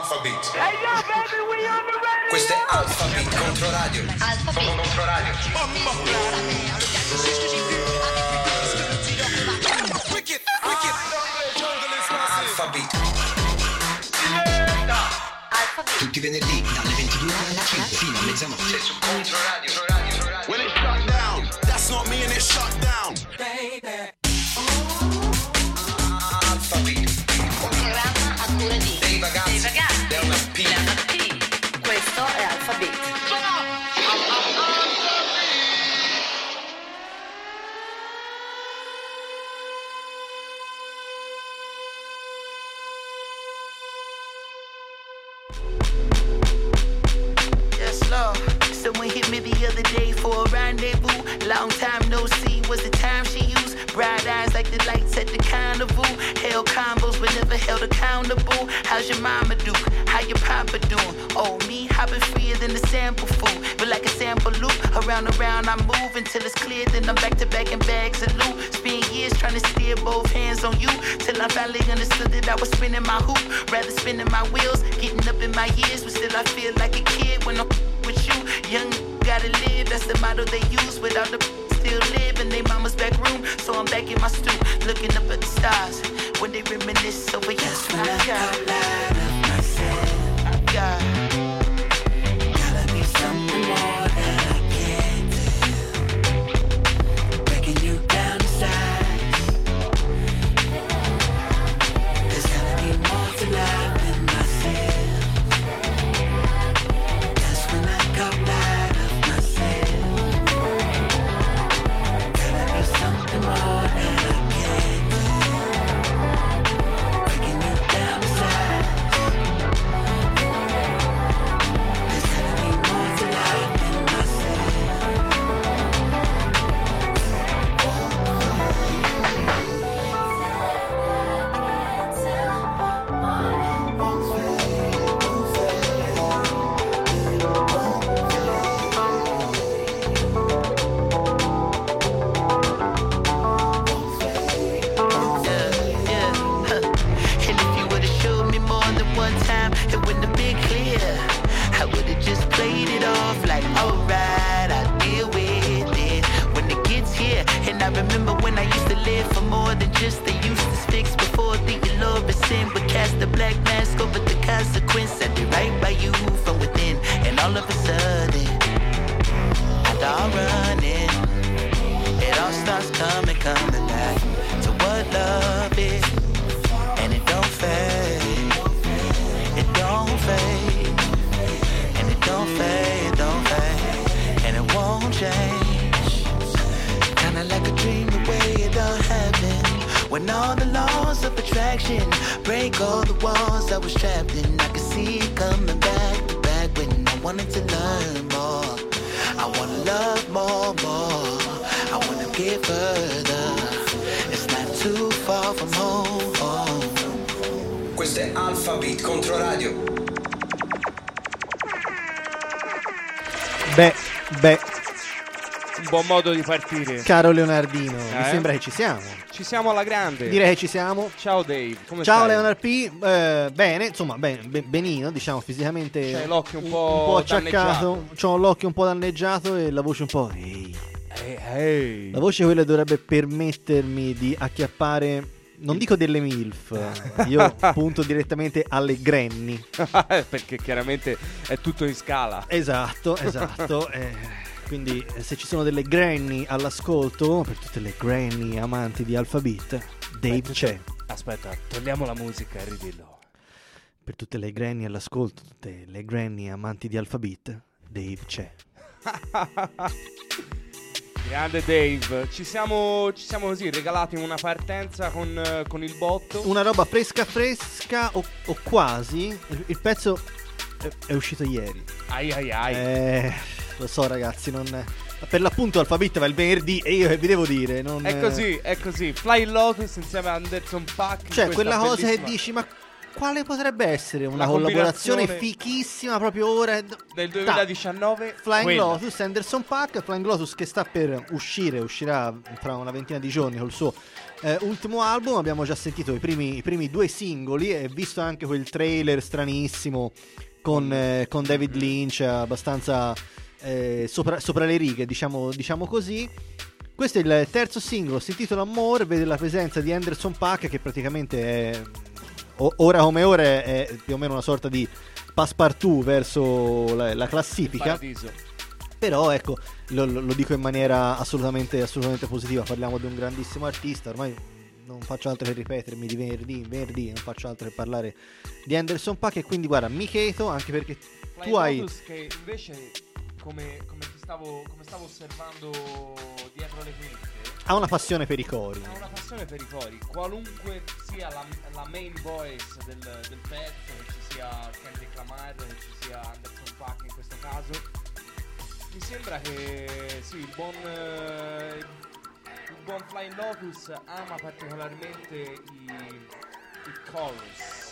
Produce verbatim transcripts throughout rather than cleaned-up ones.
Alphabet. Hey yo, baby, we on the radio. Questo è Alphabet contro radio. Alphabet contro radio. Wicked, wicked. Alphabet. Tutti i venerdì dalle ventidue alle cinque fino a mezzanotte su Contro Radio. When it shut down, that's not me and it shut down. Baby. Alphabet. Un programma a cura di Dei Ragazzi, da una P. P. Questo è Alphabet. Someone hit me the other day for a rendezvous. Long time no see was the time she used. Bright eyes like the lights at the carnival. Held combos but never held accountable. How's your mama do? How your papa doing? Oh, me hopping freer than the sample food. But like a sample loop, around and around I move until it's clear. Then I'm back to back in bags of loot. Spend years trying to steer both hands on you. Till I finally understood that I was spinning my hoop. Rather spinning my wheels, getting up in my years. But still I feel like a kid when I'm with you. Young gotta live, that's the motto they use. Without the still live in their mama's back room. So I'm back in my stoop, looking up at the stars when they reminisce over you. That's when I got light of myself. God, gotta be something more than I can do. Breaking you down to size. There's gotta be more to life than myself. That's when I got light of myself. Gotta be something more than I can do. Breaking you down to size. There's gotta be more to life than myself. Yeah, yeah, huh. And if you would've showed me more than one time, it wouldn't have been clear. I would've just played it off like, alright, I'll deal with it when it gets here. And I remember when I used to live for more than just the useless fix. Before thinking love is sin, but cast the black mask over the consequence. I did right by you from within, and all of a sudden, after all running, it all starts coming, coming back to what love is. And it don't fade, it don't fade, and it don't fade, it don't fade, and it won't change. Kinda like a dream the way it all happened. When all the laws of attraction break all the walls I was trapped in. I could see it coming back to back when I wanted to learn more. I wanna love more, more. I wanna get further. It's not too far from home, home. Questo è Alphabet contro radio. Beh, beh, Un buon modo di partire. caro Leonardino, mi Eh? sembra che ci siamo. Ci siamo alla grande. Direi che ci siamo. Ciao Dave, come Ciao stai? Leonard P, eh, bene, insomma, ben- ben- benino, diciamo, fisicamente C'hai l'occhio un un po' po' acciaccato, c'ho l'occhio un po' danneggiato e la voce un po'... Ehi. Ehi, ehi. La voce quella dovrebbe permettermi di acchiappare, non dico delle milf, io punto direttamente alle granny. Perché chiaramente è tutto in scala. Esatto, esatto. eh, quindi eh, se ci sono delle granny all'ascolto, per tutte le granny amanti di Alphabet, Dave c'è. Aspetta, togliamo la musica e ridillo. Per tutte le granny all'ascolto, tutte le granny amanti di Alphabet, Dave c'è. Grande Dave, ci siamo, ci siamo così regalati una partenza con, eh, con il botto. Una roba fresca fresca o, o quasi. Il, il pezzo è, è uscito ieri. Ai ai ai. Eh, lo so ragazzi, non... Per l'appunto Alphabet va il venerdì e io che vi devo dire non... È così, è così. Fly Lotus insieme a Anderson Paak. Cioè quella cosa che dici, ma quale potrebbe essere una La collaborazione combinazione fichissima proprio ora del duemiladiciannove? Flying quella. Lotus, Anderson .Paak. Flying Lotus che sta per uscire, uscirà fra una ventina di giorni col suo eh, ultimo album. Abbiamo già sentito i primi, i primi due singoli e visto anche quel trailer stranissimo con, eh, con David Lynch abbastanza eh, sopra, sopra le righe, diciamo, diciamo così. Questo è il terzo singolo, si intitola More, vede la presenza di Anderson .Paak che praticamente è, ora come ora è, è più o meno una sorta di passepartout verso la, la classifica. Paradiso. Però ecco, lo, lo dico in maniera assolutamente, assolutamente positiva, parliamo di un grandissimo artista, ormai non faccio altro che ripetermi di venerdì in venerdì, non faccio altro che parlare di Anderson .Paak e quindi guarda, mi cheto anche perché Flying tu hai... Lotus che invece come, come, ti stavo, come stavo osservando dietro le quinte ha una passione per i cori. ha una passione per i cori, qualunque sia la, la main voice del, del pezzo, che ci sia Kendrick Lamar, che ci sia Anderson .Paak in questo caso, mi sembra che sì, il buon eh, il buon Flying Lotus ama particolarmente i, i chorus.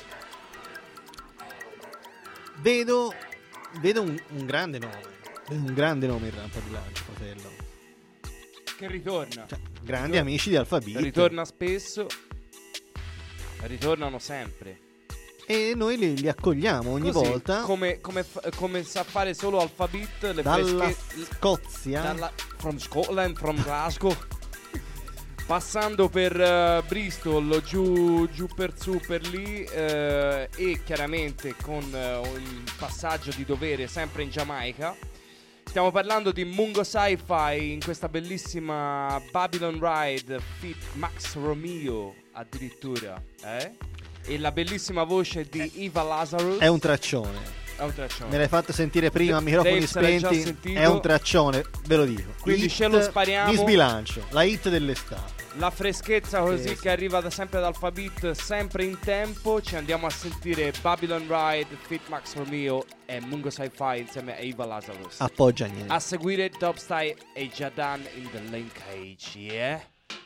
Vedo, vedo un, un grande nome, vedo un grande nome in rampa di lancio, fratello. Che ritorna, Cioè, grandi Ritorna. amici di Alphabet. ritorna spesso, ritornano sempre. E noi li, li accogliamo ogni Così, volta come, come, fa- come sa fare solo Alphabet, le dalla fresche- Scozia. dalla, from Scotland, from Glasgow, passando per uh, Bristol, giù, giù per su per lì, uh, e chiaramente con uh, il passaggio di dovere sempre in Giamaica. Stiamo parlando di Mungo Sci-Fi in questa bellissima Babylon Ride feat Max Romeo addirittura, eh? E la bellissima voce di Eva Lazarus. È un traccione. È un traccione. Me l'hai fatto sentire prima a microfoni Dave se l'hai già spenti. sentito. È un traccione, ve lo dico. Quindi Hit ce lo spariamo. di sbilancio, la hit dell'estate. La freschezza così Sì, sì. che arriva da sempre dal Alphabet, sempre in tempo. Ci andiamo a sentire Babylon Ride, Fit Max Romeo e Mungo Sci-Fi insieme a Eva Lazarus. Appoggia niente. A seguire Dubstyle e Jadan in the linkage, yeah?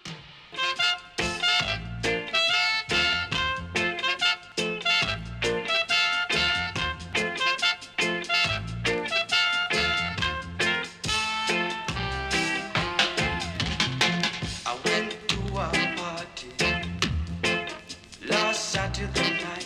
I went to a party last Saturday night.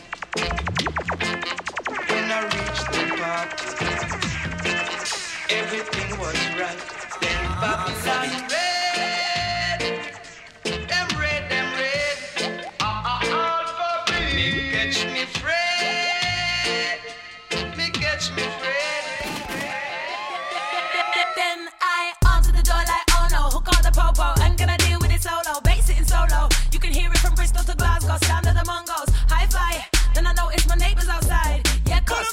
When I reached the party, everything was right. Then Babylon red, them red, them red. Ah ah Alphabet, me catch me Fred, me catch me Fred. Then I answer the door like, oh no, who called the popo? I'm gonna deal with it solo, bass it in solo. You can hear it from Bristol to Glasgow, sound of the Mongols. Hi-fi, then I notice my neighbors outside. Yeah, cause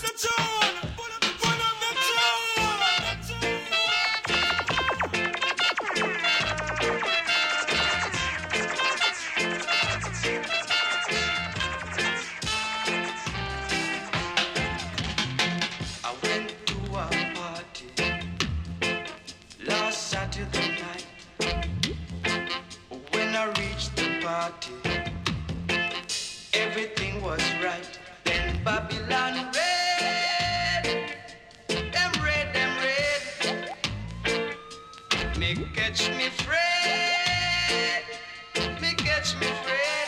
I went to a party last Saturday night. When I reached the party, everything was right. Then Babylon red, them red, them red. Me catch me Fred, me catch me Fred.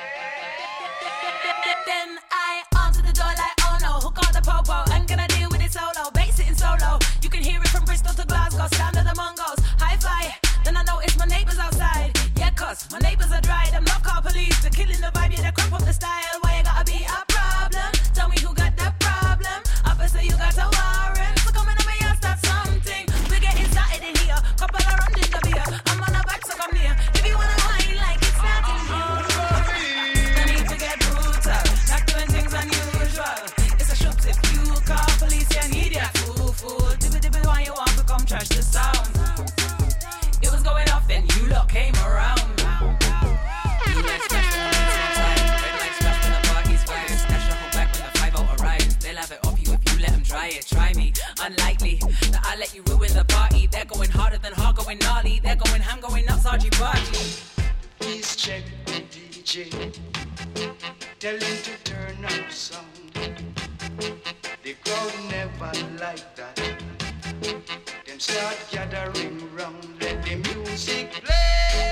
then I answer the door like, oh no, who called the popo? I'm gonna deal with it solo, bass it in solo. You can hear it from Bristol to Glasgow, sound of the Mongols. Hi-fi, then I notice my neighbors outside. Yeah, cause my neighbors are dry, them not call police. They're killing the vibe, yeah, they crop up the style. Why you gotta be a problem? Tell me who got that problem. Officer, you got a warrant. So come in on me and start something. We're getting started in here. Couple of rounds in the beer. I'm on the back, so come here. If you wanna wine like it's not in here. I need to get brutal. Not doing things unusual. It's a shoot if you call police, you need ya. Fool, fool. Dibby dibby, why you want to come trash the sound? It was going off and you lot came around. Blue lights flash when the beats on time. Red lights flash when the party's fine. Stash your whole back when the five oh arrives. They'll have it off you if you let them try it. Try me. Unlikely that I let you ruin the party. They're going harder than hard, going gnarly. They're going ham, going nuts, R G party. Please check the D J. tell them to turn up sound. The crowd never like that. Them start gathering round, let the music play.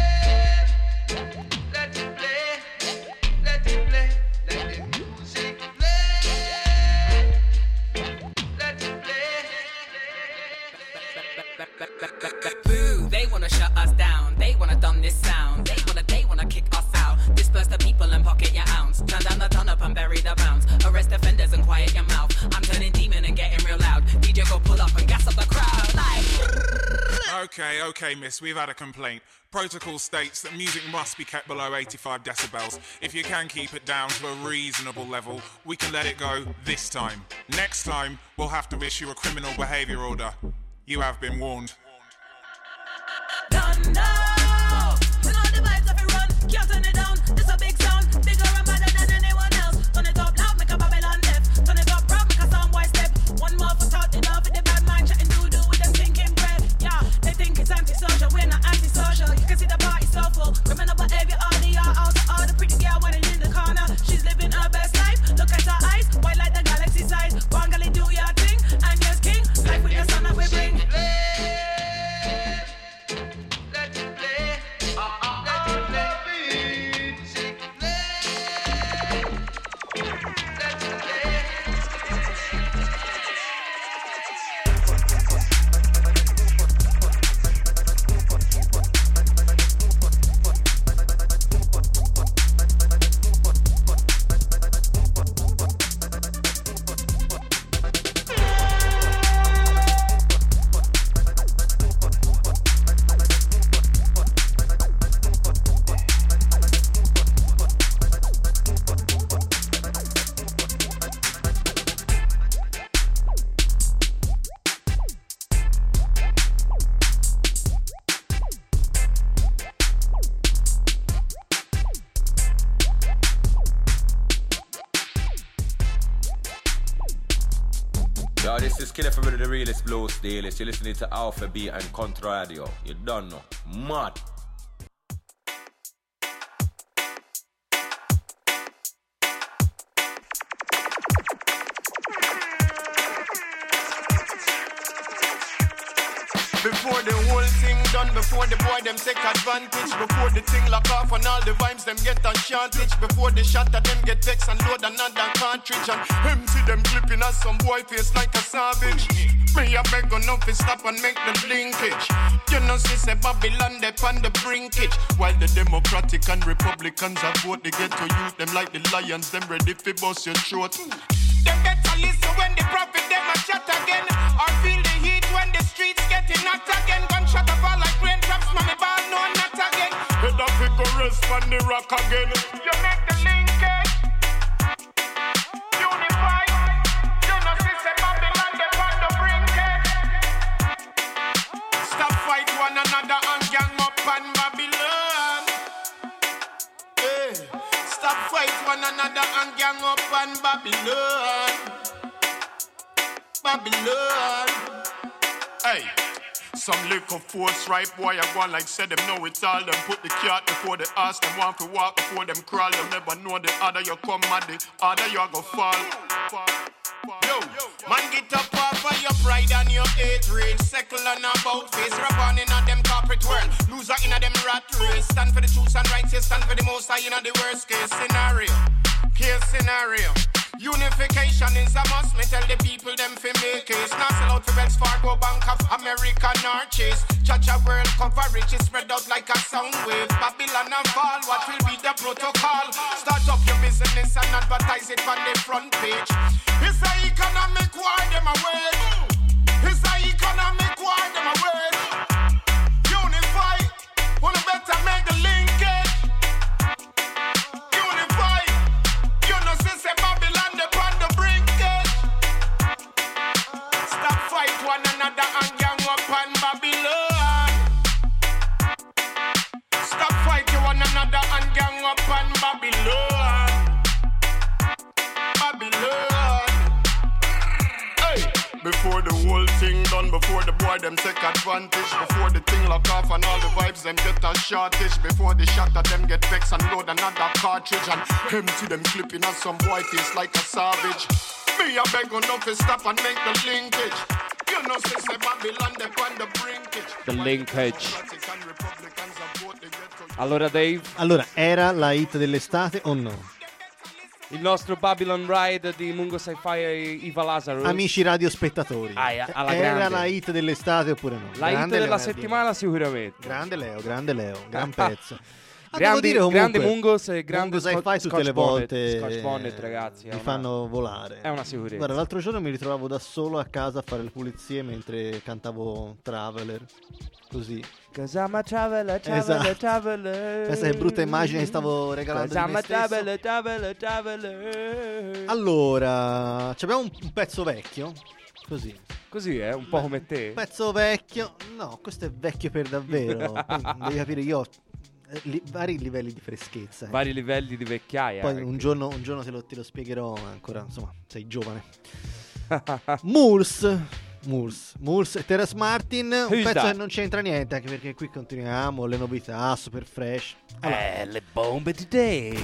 Let it play, let it play, let the music play. Let it play. Boo, they wanna shut us down. They wanna dumb this sound. They wanna, they wanna kick us out. Disperse the people and pocket your ounce. Turn down the turn up and bury the bounce. Arrest offenders and quiet your mouth. I'm turning demon and getting real loud. D J go pull up and gas up the crowd like. Okay, okay, miss, we've had a complaint. Protocol states that music must be kept below eighty-five decibels. If you can keep it down to a reasonable level, we can let it go this time. Next time, we'll have to issue a criminal behaviour order. You have been warned. Don't know. Turn on the vibes if you run. Can't turn it down. This a big sound. Bigger and better than anyone else. Turn it up loud, make a Babylon deaf. Turn it up proud, make a soundboy step. One more for talk, it off with the bad mind. Chatting doo-doo with them thinking bread. Yeah, they think it's antisocial. We're not antisocial. You can see the party so full. Criminal behavior, all the y'all out. All the pretty girl running in the corner. She's living her best life. Look at her eyes. White like the galaxy size. One gally do your thing. And yes, king. Life with the sun that we bring. Yo, this is Killer from the Realest Blues Steelers. You're listening to Alpha B and Contra Radio. You don't know. Mad. Before the whole thing done, before the boy them take advantage, before the thing lock off and all the vibes them get enchanted, before the shot of them get vexed and load another cartridge and empty them clipping as some boy face like a savage. Me a beg enough to stop and make the linkage. You know see say Babylon they on the brinkage, while the Democratic and Republicans are vote they get to use them like the lions, them ready for bust your throat. Them get to listen when the prophet them a shot again, or feel the heat when the streets getting hot again. Gunshot a fall like raindrops, mommy ball no not again. Head up it go rest on the rock again. You make the linkage, unify. You know see say Babylon they on the brinkage. Stop fight one another and gang up on Babylon. Hey, stop fight one another and gang up on Babylon. Babylon. Hey, some little force right boy I go like said them know it's all them. Put the cat before they ask them want to walk before them crawl. Them never know the other you come mad the other you go fall. Yo, man get up off of your pride and your age range. Circle on about face, rub on in a them corporate world. Loser in a them rat race. Stand for the truth and rights, stand for the most high in a the worst case scenario. Case scenario. Unification is a must, me tell the people them fi make it. Not sell out for Wells Fargo, Bank of America, nor Chase. Cha-cha world coverage is spread out like a sound wave. Babylon and fall, what will be the protocol? Start up your business and advertise it on the front page. It's a economic war, them a wage. It's a economic war, them a wage. Unify, wanna better make the linkage. Unify, you know since Babylon they on the brinkage. Stop fight one another and gang up on Babylon. Stop fight one another and gang up on Babylon. Babylon. Hey, before whole thing done before the boy them take advantage. Before the thing lock off and all the vibes them get a shortage. Before the shot that them get vexed and load another cartridge. And empty them clipping on some boy face like a savage. Me a beg on to stop and make the linkage. You know say say Babylon they on the brinkage. The linkage. Allora Dave, Allora, era la hit dell'estate o no? il nostro Babylon Ride di Mungo Sci-Fi e Iva Lazarus. Amici radiospettatori, Ah, alla era grande. la hit dell'estate oppure no? La hit Grande della Leo, settimana sicuramente. Grande Leo, grande Leo, gran pezzo. Ah, devo Grandi, dire comunque, grande Mungos e grande Mungo Sci-Fi Scotch- tutte Scotch le Bonnet. volte Scotch Bonnet, ragazzi, è mi una- fanno volare. è una sicurezza. Guarda, l'altro giorno mi ritrovavo da solo a casa a fare le pulizie mentre cantavo Traveler, così. Cause I'm a traveler, traveler, Esatto. traveler. Questa è brutta immagine che stavo regalando Cause di I'm me a stesso. traveler, traveler, traveler. Allora, ci abbiamo un, un pezzo vecchio, così. Così è, un po' come te. Un pezzo vecchio, no, questo è vecchio per davvero. Poi devi capire, io ho eh, li- vari livelli di freschezza. eh. Vari livelli di vecchiaia. Poi anche. un giorno, un giorno te, lo, te lo spiegherò, ma ancora, insomma, sei giovane. Moors, Moors, Moors e Terrace Martin, un Who's pezzo that? che non c'entra niente, anche perché qui continuiamo, le novità, super fresh. Allora, Eh, le bombe di Dave.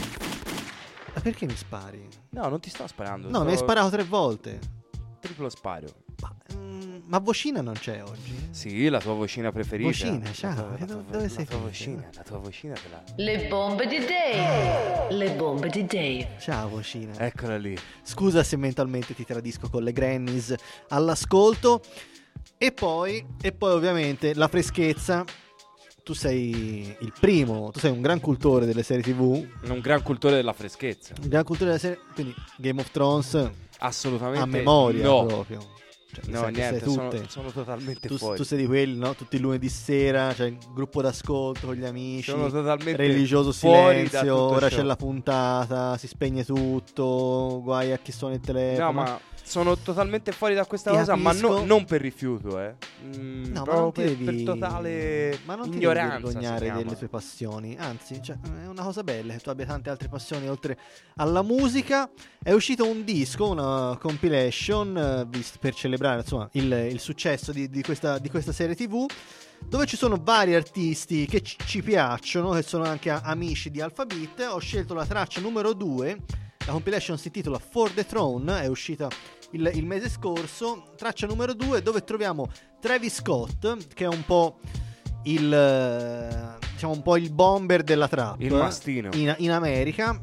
ma perché mi spari? No, non ti sto sparando. No, sto- mi hai sparato tre volte. Triplo sparo. Ma, mm, ma Vocina non c'è oggi? Sì, la tua vocina preferita. Vocina, ciao, La tua, e la dove- tua- dove la sei tua finita? vocina, la tua vocina te la... Le bombe di Dave. Le bombe di Dave. Ciao Vocina. Eccola lì. Scusa se mentalmente ti tradisco con le grannies all'ascolto. E poi, e poi ovviamente la freschezza. Tu sei il primo, tu sei un gran cultore delle serie tivù, Un gran cultore della freschezza. un gran cultore delle serie, quindi Game of Thrones Assolutamente a memoria no. proprio. Cioè, No, sai che niente, sai sono, tutte. sono totalmente Tu, fuori. tu sei di quelli, no? Tutti i lunedì sera, cioè il gruppo d'ascolto con gli amici, Sono totalmente religioso fuori da silenzio, tutto ora ciò. c'è la puntata, si spegne tutto, guai a chi suona il telefono. No, ma sono totalmente fuori da questa Ti cosa, ma capisco. no- non per rifiuto, eh. Mm, No, ma proprio non ti per, devi, per totale ma non ti ignoranza. devi si vergognare chiama. delle tue passioni. Anzi, cioè, è una cosa bella che tu abbia tante altre passioni oltre alla musica. È uscito un disco, una compilation, eh, vist- per celebrare insomma il, il successo di, di questa, di questa serie tivù, dove ci sono vari artisti che ci, ci piacciono, che sono anche a- amici di Alphabet. Ho scelto la traccia numero due. La compilation si intitola For the Throne, è uscita il, il mese scorso. Traccia numero due, dove troviamo Travis Scott, che è un po' il eh, diciamo un po' il bomber della trap, Il mastino. in, in America.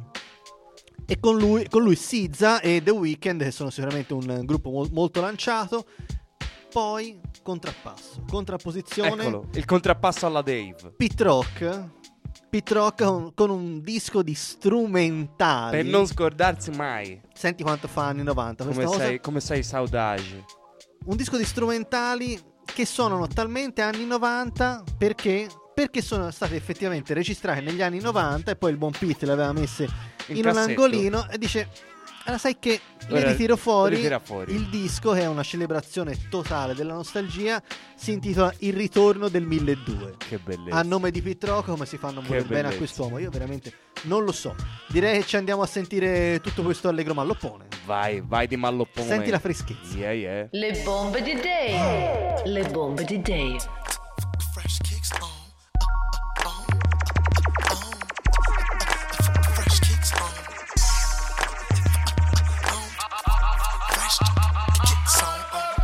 E con lui, con lui S Z A e The Weeknd, che sono sicuramente un gruppo mol- molto lanciato. Poi contrappasso, contrapposizione, Eccolo, il contrappasso alla Dave. Pit Rock. Pit Rock con, con un disco di strumentali. Per non scordarsi mai. Senti quanto fa anni novanta questa Come cosa. sei, come sei saudage. Un disco di strumentali che suonano talmente anni novanta perché perché sono state effettivamente registrate negli anni novanta e poi il buon Pete le aveva messe In in, un cassetto. angolino e dice allora sai che le Ora ritiro fuori. ritira fuori. Il disco, che è una celebrazione totale della nostalgia, si intitola Il ritorno del milleduecento. Che bellezza. A nome di Pit Rock, come si fanno Che morire bene a bellezza. quest'uomo? Io veramente non lo so. Direi che ci andiamo a sentire tutto questo allegro malloppone. Vai, vai di malloppone. Senti la freschezza. Yeah, yeah. Le bombe di Dave. Le bombe di Dave. Fresh kicks on. Uh, uh, uh, uh, uh. Fresh kicks on. On. Fresh kicks on.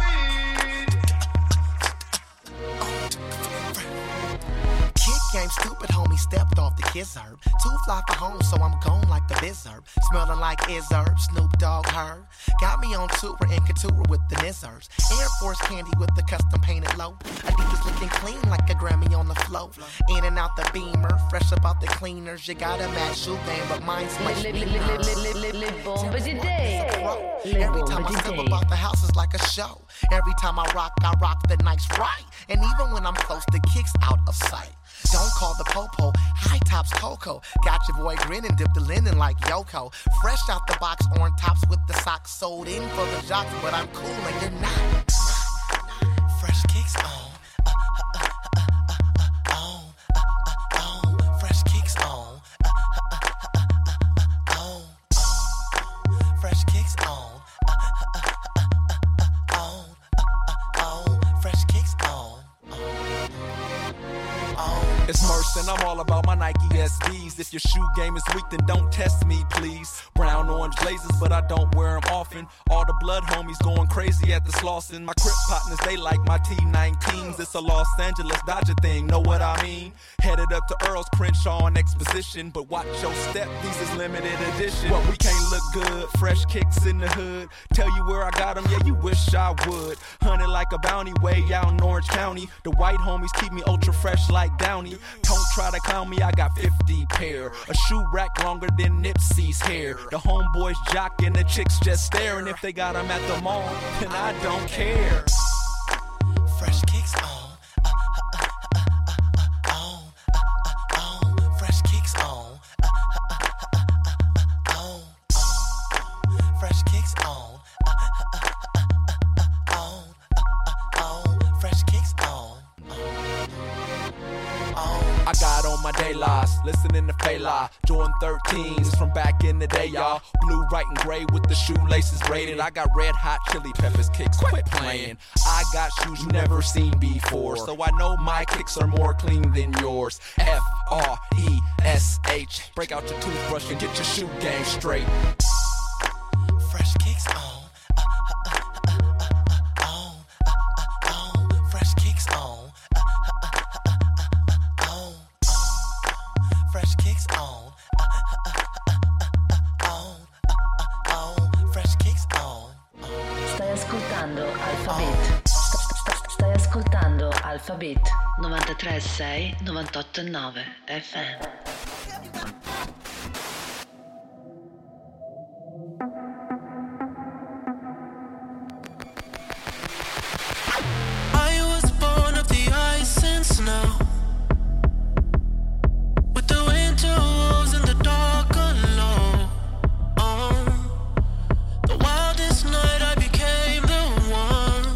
Kid game stupid, homie stepped off the kiss herb. Too fly for home, so I'm gone like the biz herb. Smelling like is herb, Snoop Dogg herb. Got me on tour and couture with the nizzers. Air Force candy with the custom painted low. Adidas looking clean like a Grammy on the flow. In and out the Beamer, fresh about the cleaners. You got a match shoe game, but mine's Le, much le, le, meaner. le, le, le, le bombe di Dave. Le Every time bombe I di step Dave. about the house is like a show. Every time I rock, I rock the nights right. And even when I'm close, the kick's out of sight. Don't call the popo, high tops Coco. Got your boy grinning, dip the linen like Yoko. Fresh out the box, orange tops with the socks sold in for the jocks, but I'm cool and you're not. Fresh kicks on. Uh, uh, uh, uh, uh, uh, on. Uh, uh, on. Fresh kicks on. Uh, uh, uh, uh, uh, uh, on. On. Fresh kicks on. Uh, uh, uh, uh, uh, uh, on. Uh, uh, about my Nike S Bs. If your shoe game is weak, then don't test me, please. Brown, orange blazers, but I don't wear them often. All the blood homies going crazy at the Slauson. My Crip partners, they like my T nineteens. It's a Los Angeles Dodger thing, know what I mean? Headed up to Earl's, Crenshaw, and Exposition. But watch your step, these is limited edition. What, we can't look good, fresh kicks in the hood. Tell you where I got them, yeah, you wish I would. Hunted like a bounty way out in Orange County. The white homies keep me ultra fresh like Downey. Don't try to clown me, I got fifty pair. A shoe rack longer than Nipsey's hair. The homeboys jock and the chicks just staring. If they got them at the mall, then I don't care. Fresh kicks on. Uh, uh, uh, uh, uh, uh, on. Uh, uh, on. Fresh kicks on. Uh, uh, uh, uh, uh, uh, on. On. Fresh kicks on. Uh, uh, uh, uh, uh, uh, on. Uh, uh, on. Fresh kicks on. I got on my day loss, listening to Fela. Jordan thirteens from back in the day, y'all. Blue, white, and gray with the shoelaces braided. I got red hot chili peppers kicks, quit playing. I got shoes you never seen before, so I know my kicks are more clean than yours. F R E S H. Break out your toothbrush and get your shoe game straight. Fresh kicks on. Uh, uh, uh, uh, uh, uh, on. Uh, uh, on. Fresh kicks on. Uh, uh, uh, uh, uh, uh, on. Fresh kicks on. Uh, uh, uh, uh, uh, on. Uh, uh, on. Fresh kicks on. Stai ascoltando Alphabet. St- st- Stai ascoltando Alphabet novantatré sei novantotto nove F M. I was born of the ice and snow, with the winter wolves in the dark alone. Oh, the wildest night I became the one,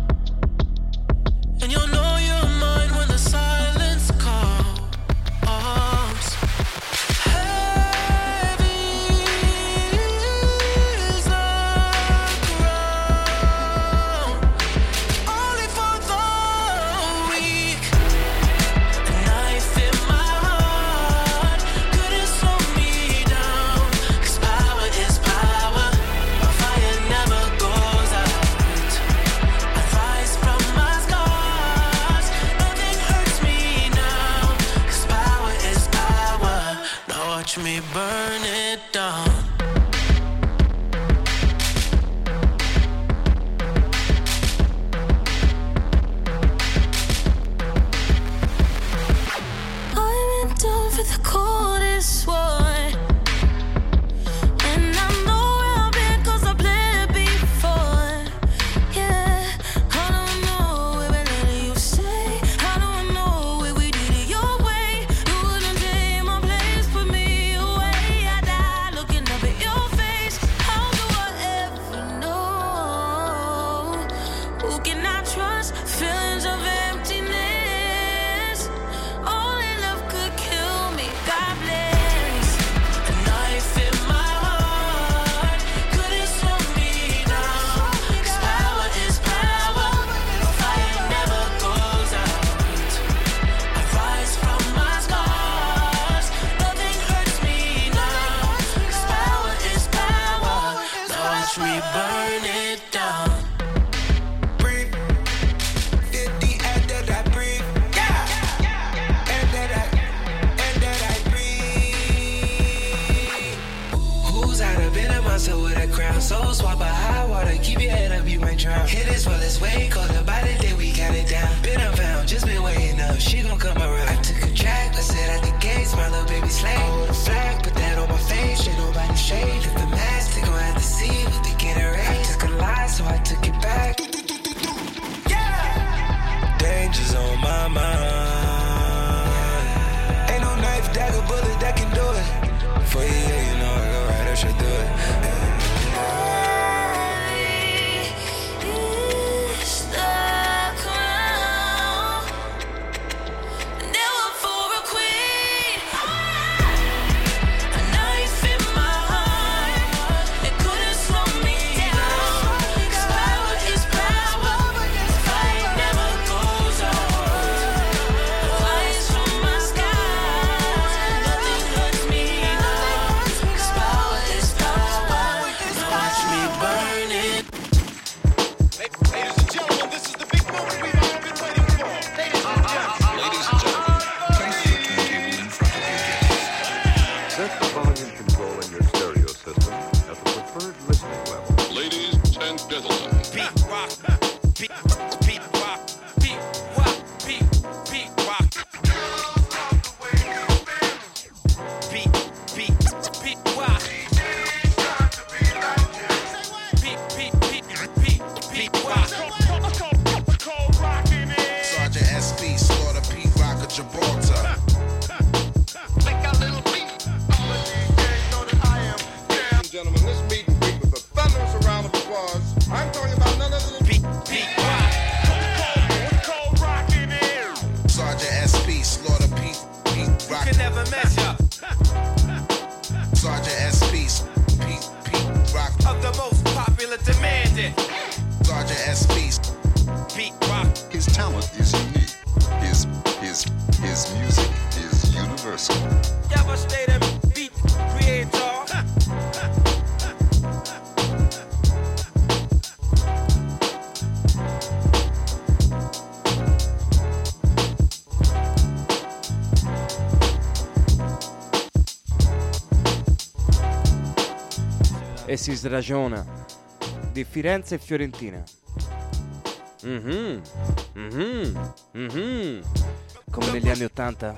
and you'll know you're mine when the silence calls. Heavy is the ground, only for the weak. A knife in my heart couldn't slow me down, 'cause power is power, my fire never goes out. I rise from my scars, nothing hurts me now, 'cause power is power. Now watch me burn it down. I went down for the coldest one, and I know where I've been 'cause I played it before. Yeah, I don't know where we're letting you stay. I don't know where we did it your way. You wouldn't take my place, put me away. I die looking up at your face. How do I ever know? Who can I trust? Feelings of emptiness. Only love could kill me. God bless. A knife in my heart couldn't slow me down, 'cause power is power, my fire never goes out. I rise from my scars, nothing hurts me now, 'cause power is power. Now watch me burn it down. Breathe. fifty and that I breathe. Yeah. And that I, and that I breathe. Who's out of bed of myself with a crown? Soul swap a high water, keep your head up, you might drown. Hit this while it's way colder, by the day we got it down. Been unfound, just been waiting up, she gon' come around. I took a track, I said at the gates, my little baby slave. I hold a flag, put that on my face, shit nobody shade. If the mask, they gon' have to see what they get arranged. I took a lie, so I took it back. Danger's on my mind. Ain't no knife, dagger, bullet that can do it. For you, yeah, you know I go right, I should do it. Is the crown, never for a queen. A knife in it. Sergeant S P, beat rock. His talent is unique. His his his music is universal. Devastating beat creator. E si sragiona di Firenze e Fiorentina. Mhm. Mhm. Mhm. Come negli anni Ottanta.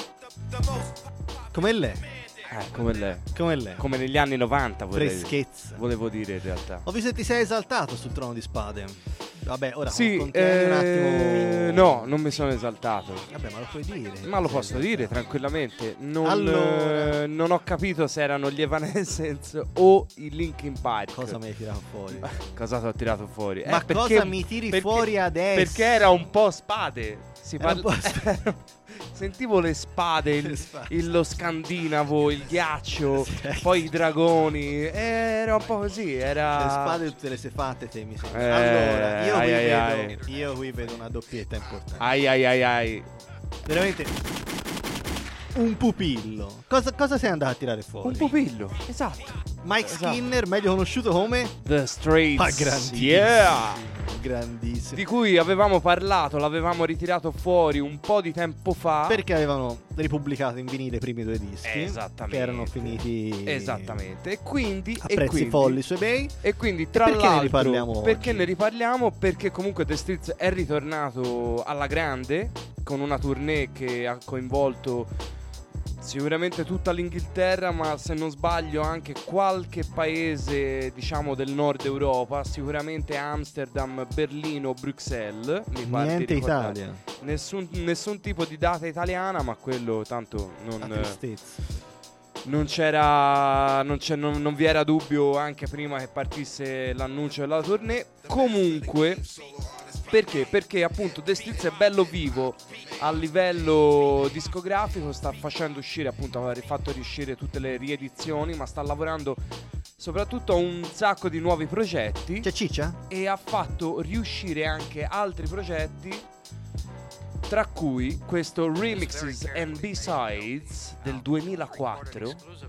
Come lei. Eh, come lei. Come lei. Come negli anni novanta, vorrei Freschezza. Volevo dire in realtà. Ho visto che ti sei esaltato sul Trono di Spade. Vabbè, ora Sì, contieni eh, un attimo. no, non mi sono esaltato. Vabbè, ma lo puoi dire. Ma lo posso dire tranquillamente. Non, Allora. eh, non ho capito se erano gli Evanescence o i Linkin Park. Cosa mi hai tirato fuori? Cosa ti ho tirato fuori? Ma Eh, perché- cosa mi tiri perché- fuori adesso? Perché era un po' spade. Si Era un parla- Sentivo le spade, il, Le spade. il- lo scandinavo, il ghiaccio, poi i dragoni. Era un po' così. Era Le spade tutte le sei fatte te, mi sembra. Eh, Allora, io ai, qui ai, vedo ai. io qui vedo una doppietta importante. Ai ai ai ai. Veramente un pupillo. Cosa, cosa sei andato a tirare fuori? Un pupillo, esatto. Mike Esatto. Skinner, meglio conosciuto come The Straits. Ah, grandissimo. Yeah. Grandissimo. Di cui avevamo parlato, l'avevamo ritirato fuori un po' di tempo fa. Perché avevano ripubblicato in vinile i primi due dischi. Esattamente. Che erano finiti Esattamente. E quindi a e prezzi quindi- folli su eBay. E quindi tra perché ne l'altro riparliamo perché oggi? ne riparliamo? Perché comunque The Streets è ritornato alla grande con una tournée che ha coinvolto sicuramente tutta l'Inghilterra, ma se non sbaglio anche qualche paese, diciamo, del nord Europa, sicuramente Amsterdam, Berlino, Bruxelles. Mi pare di Niente ricordare. Italia. Nessun, nessun tipo di data italiana, ma quello tanto non, La tristezza. non c'era, non, c'è, non, non vi era dubbio anche prima che partisse l'annuncio della tournée. Comunque, perché? Perché appunto The Streets è bello vivo a livello discografico, sta facendo uscire, appunto, ha fatto riuscire tutte le riedizioni, ma sta lavorando soprattutto a un sacco di nuovi progetti. C'è ciccia? E ha fatto riuscire anche altri progetti, tra cui questo Remixes and B-Sides del duemilaquattro,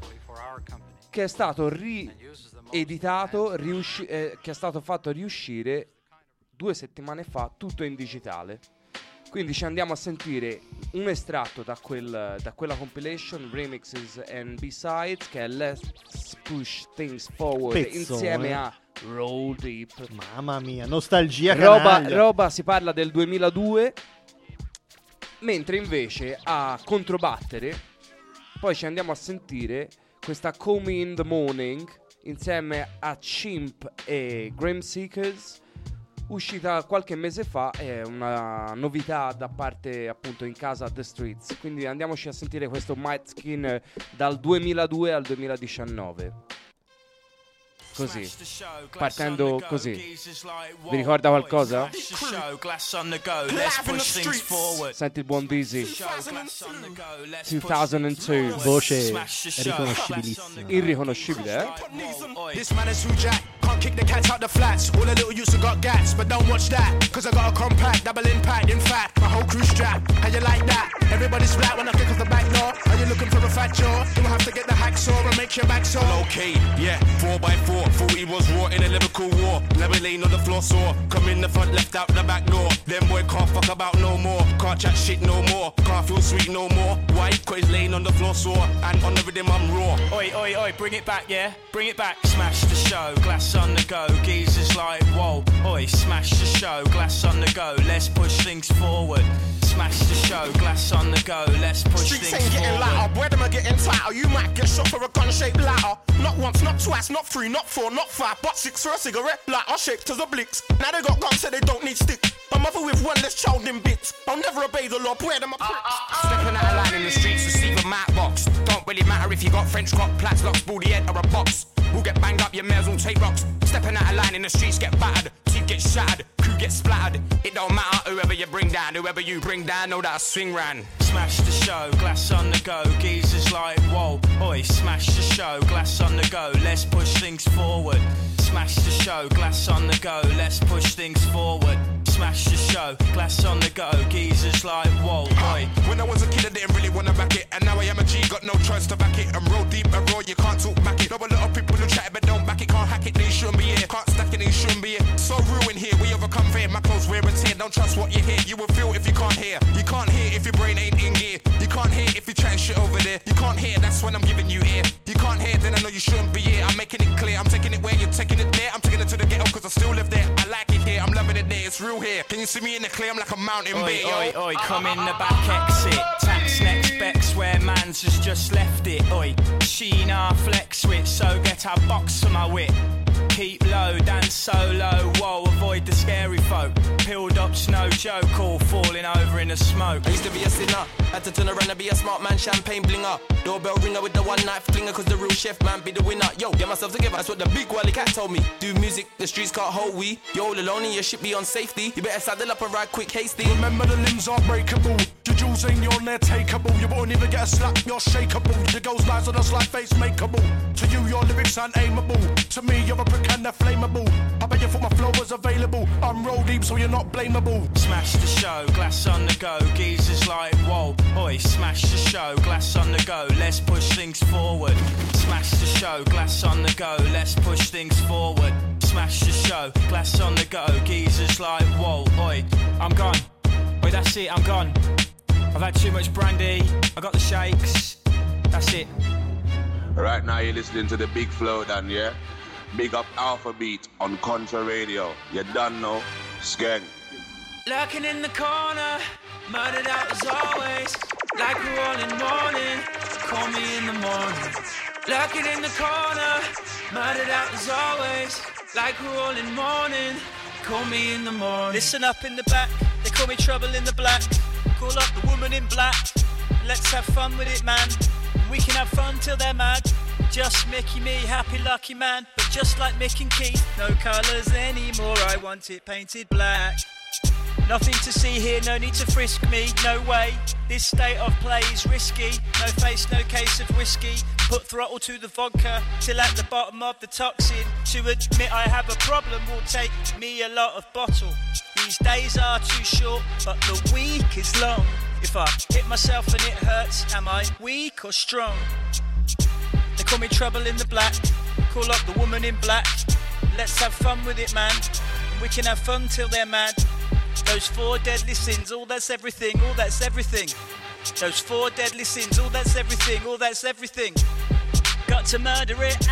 che è stato rieditato, riusci- eh, che è stato fatto riuscire due settimane fa, tutto in digitale. Quindi ci andiamo a sentire un estratto da, quel, da quella compilation Remixes and B-Sides, che è Let's Push Things Forward, Pezzone. insieme a Roll Deep. Mamma mia, nostalgia Roba, canaglia. roba, si parla del duemiladue. Mentre invece a controbattere, poi ci andiamo a sentire questa Call Me in the Morning insieme a Chimp e Graham Seekers, uscita qualche mese fa, è una novità da parte appunto in casa The Streets. Quindi andiamoci a sentire questo Mike Skinner dal duemiladue al duemiladiciannove. Così, partendo così. Vi ricorda qualcosa? Senti il buon Dizzy. duemiladue. Voce riconoscibilissima. Irriconoscibile, eh? This man is who Jack. Can't kick the cats out the flats. All the little youths have got gats, but don't watch that. Cause I got a compact, double impact. In fact, my whole crew strap. How you like that? Everybody's flat when I kick off the back door. Are you looking for a fat jaw? You'll have to get the hacksaw and make your back sore. Okay, yeah, four by four. Forty was raw in a Liverpool war. Never laying on the floor sore. Come in the front, left out the back door. Them boy can't fuck about no more. Can't chat shit no more. Can't feel sweet no more. Why? Cause he's laying on the floor sore. And on the rhythm I'm raw. Oi, oi, oi, bring it back, yeah? Bring it back. Smash the show, glass on the go. Geezers like, whoa. Oi, smash the show, glass on the go. Let's push things forward. Smash the show, glass on the go. Let's push Streets things ain't getting forward. louder, boy, them are getting tighter. You might get shot for a gun-shaped ladder. Not once, not twice, not three, not four, not five, but six for a cigarette lighter shaped as a blitz. Now they got guns, so they don't need sticks. A mother with one less child in bits. I'll never obey the law, boy, them a pricks. Stepping out of line in the streets, receive a mat box. Don't really matter if you got French clock, plats, locks, baldy head or a box. We'll get banged up, your mares will take rocks. Stepping out of line in the streets, get battered. Teeth get gets shattered, crew gets splattered. It don't matter whoever you bring down, whoever you bring down, know that I swing round. Smash the show, glass on the go, geezers like whoa. Oi, smash the show, glass on the go, let's push things forward. Smash the show, glass on the go, let's push things forward. Smash the show, glass on the go, geezers like whoa, oi. When I was a kid I didn't really wanna back it, and now I am a G, got no choice to back it. I'm roll deep and raw, you can't talk back it. Know a lot of people who chat but don't back it, can't hack it, they shouldn't be here. Can't stack it, they shouldn't be here. So ruined here, we overcome fear, my clothes wear and tear. Don't trust what you hear, you will feel if you can't hear. You can't hear if your brain ain't in gear. You can't hear if you're trying shit over there. You can't hear, that's when I'm giving you ear. You can't hear, then I know you shouldn't be here. I'm making it clear, I'm taking it where you're taking it there. I'm taking it to the ghetto cause I still live there. I like it here, I'm loving it there, it's real here. Can you see me in the clear, I'm like a mountain Oi, bear, oi, yo. oi, come in the back exit. Tax next Bex where mans has just left it. Oi, Sheena flex switch, so get a box for my wit. Keep low, dance solo, whoa, avoid the scary folk. Peeled up's no joke, all falling over in the smoke. I used to be a sinner, had to turn around and be a smart man, champagne blinger. Doorbell ringer with the one night flinger, cause the real chef man be the winner. Yo, get myself together, that's what the big Wally Cat told me. Do music, the streets can't hold we. You're all alone and your ship be on safety. You better saddle up and ride quick, hasty. Remember the limbs are breakable. Your jewels ain't your near takeable. You won't even get a slap, you're shakeable. Your girl's lies on us like face makeable. To you, your lyrics unaimable. To me, you're a brick and they're flammable. I bet you thought my flow was available. I'm roll deep, so you're not blamable. Smash the show, glass on the go, geezers like whoa. Oi, smash the show, glass on the go, let's push things forward. Smash the show, glass on the go, let's push things forward. Smash the show, glass on the go, geezers like whoa. Oi, I'm gone. Oi, that's it, I'm gone. I've had too much brandy, I got the shakes. That's it. Right now you're listening to the Big Flow Dan, yeah? Big up Alpha Beat on Contra Radio. You done know, Skeng. Lurking in the corner, murdered out as always. Like we're all in mourning, call me in the morning. Lurking in the corner, murdered out as always. Like we're all in mourning, call me in the morning. Listen up in the back, they call me Trouble in the Black. Call up the woman in black, let's have fun with it, man. We can have fun till they're mad. Just Mickey, me, happy lucky man. But just like Mick and Keith, no colours anymore, I want it painted black. Nothing to see here, no need to frisk me, no way. This state of play is risky. No face, no case of whiskey. Put throttle to the vodka till at the bottom of the toxin. To admit I have a problem will take me a lot of bottle. These days are too short, but the week is long. If I hit myself and it hurts, am I weak or strong? They call me Trouble in the Black. Call up the woman in black. Let's have fun with it, man. We can have fun till they're mad. Those four deadly sins, all that's everything, all that's everything. Those four deadly sins, all that's everything, all that's everything. Got to murder it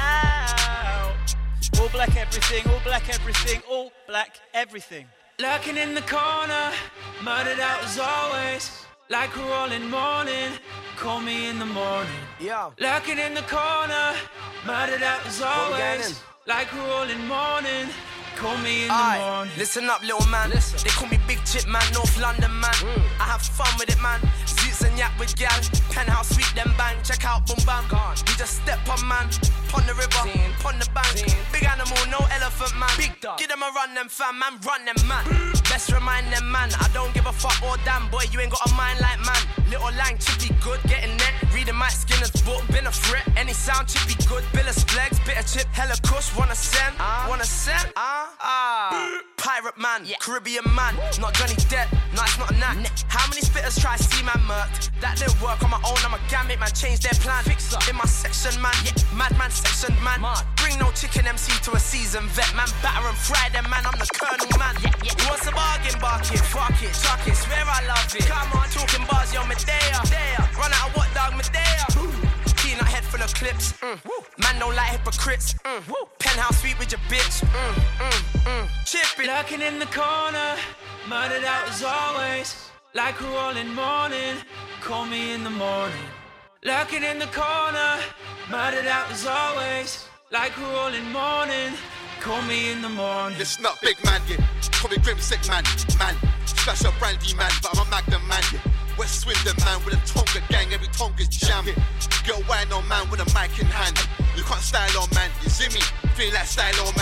out. All black everything, all black everything, all black everything. Lurking in the corner, murdered out as always. Like we're all in mourning, call me in the morning. Yo. Lurking in the corner, murdered out as always. Like we're all in mourning, call me in the Aye. morning. Listen up, little man. Listen. They call me Big Chip Man, North London man. Mm. I have fun with it, man. Suits and yak with gal. Penthouse sweet them bang. Check out boom bam. Gone. We just step on man. Pon the river, Zine. Pon the bank. Zine. Big animal, no elephant man. Big dog. Give them a run, them fam, man. Run them man. Best remind them man. I don't give a fuck or damn boy. You ain't got a mind like man. Little lang, chippy good, getting net. Reading Mike Skinner's book, been a threat. Any sound chippy good. Billis flags, bit of chip, hella kush. Wanna send? Uh. Wanna send? Ah. Uh. Ah. Pirate man, yeah. Caribbean man, not Johnny Depp, no it's not a knack. Nah. How many spitters try to see man murked? That didn't work on my own, I'm a gamut man, change their plan. Fix up in my section man, yeah. Madman section man. Mad. Bring no chicken M C to a seasoned vet man, batter and fry them man, I'm the colonel man. Yeah, yeah. Who wants a bargain, bark it, fuck it, chuck it, swear I love it. Come on, talking bars, yo, Medea. Run out of what dog, Medea. Peanut head full of clips, mm. Man don't like hypocrites, mm. Penthouse sweet with your bitch, mm, mm, mm. Chip it. Lurking in the corner, murdered out as always. Like we're all in mourning, call me in the morning. Lurking in the corner, murdered out as always. Like we're all in mourning, call me in the morning. Listen up, big man, yeah. Call me Grim Sick man, man. Splash up brandy man, but I'm a Magnum man, yeah. West Swindon man with a Tonga gang, every Tonga's jam. Yeah. Girl wine on man with a mic in hand. You can't style on man, you see me? Feel like style on man.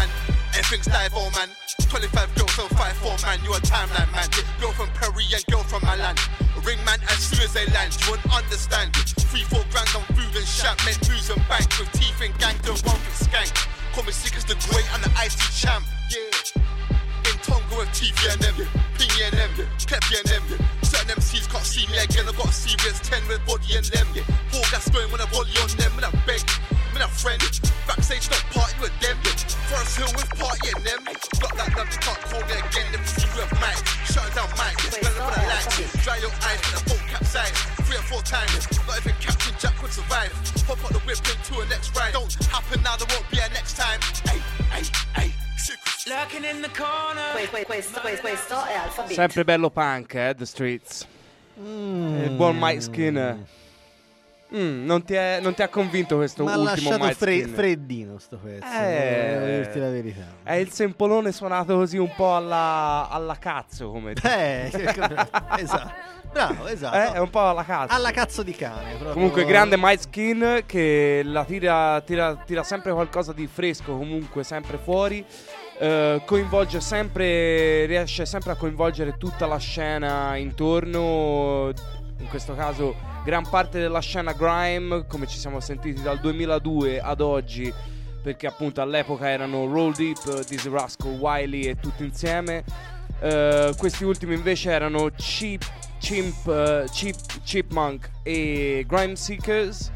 Everything's live, oh man. twenty-five girls on five four man. You a timeline man. Girl from Perry and girl from Milan. Ring man as soon as they land. You won't understand. Three, four grand on food and shop. Make booze and bank with teeth and gang. Don't want to skank. Call me sick as the great and the I T champ. Yeah. In Tonga with T V and them. Pingy and them. Peppy and them. Certain M Cs can't see me again. I got a serious ten with body and them. Yeah. Four gas going when I volley on them. When I beg. When I friend. Backstage not party with them. Yeah. Forest Hill with party and them. Block like them. They can't call me again. Them see with Mike. Shut down Mike. Spell it for the lights. Dry your eyes when the boat capsize. Three or four times. Not even Captain Jack would survive. Hop out the whip into a next ride. Don't happen now. There won't be a next time. Hey, hey, hey. Lurking in the corner. Que- questo, questo, questo è Alphabet. Sempre bello punk, eh, The Streets. Mm. Il buon Mike Skinner. Mm, non, ti è, non ti ha convinto questo Ma ultimo ha lasciato Mike fre- Skinner? freddino sto pezzo, Eh, devo dirti la verità. È il sempolone suonato così un po' alla, alla cazzo, come Eh, esatto. Bravo, esatto. Eh, è un po' alla cazzo. Alla cazzo di cane. Proprio. Comunque grande Mike Skin che la tira, tira, tira sempre qualcosa di fresco, comunque sempre fuori. Uh, coinvolge sempre, riesce sempre a coinvolgere tutta la scena intorno. In questo caso gran parte della scena grime, come ci siamo sentiti dal duemiladue ad oggi, perché appunto all'epoca erano Roll Deep, Dizzy Rascal, Wiley e tutti insieme. Uh, questi ultimi invece erano Cheap, Chimp, uh, Cheap, Chipmunk e Grime Seekers.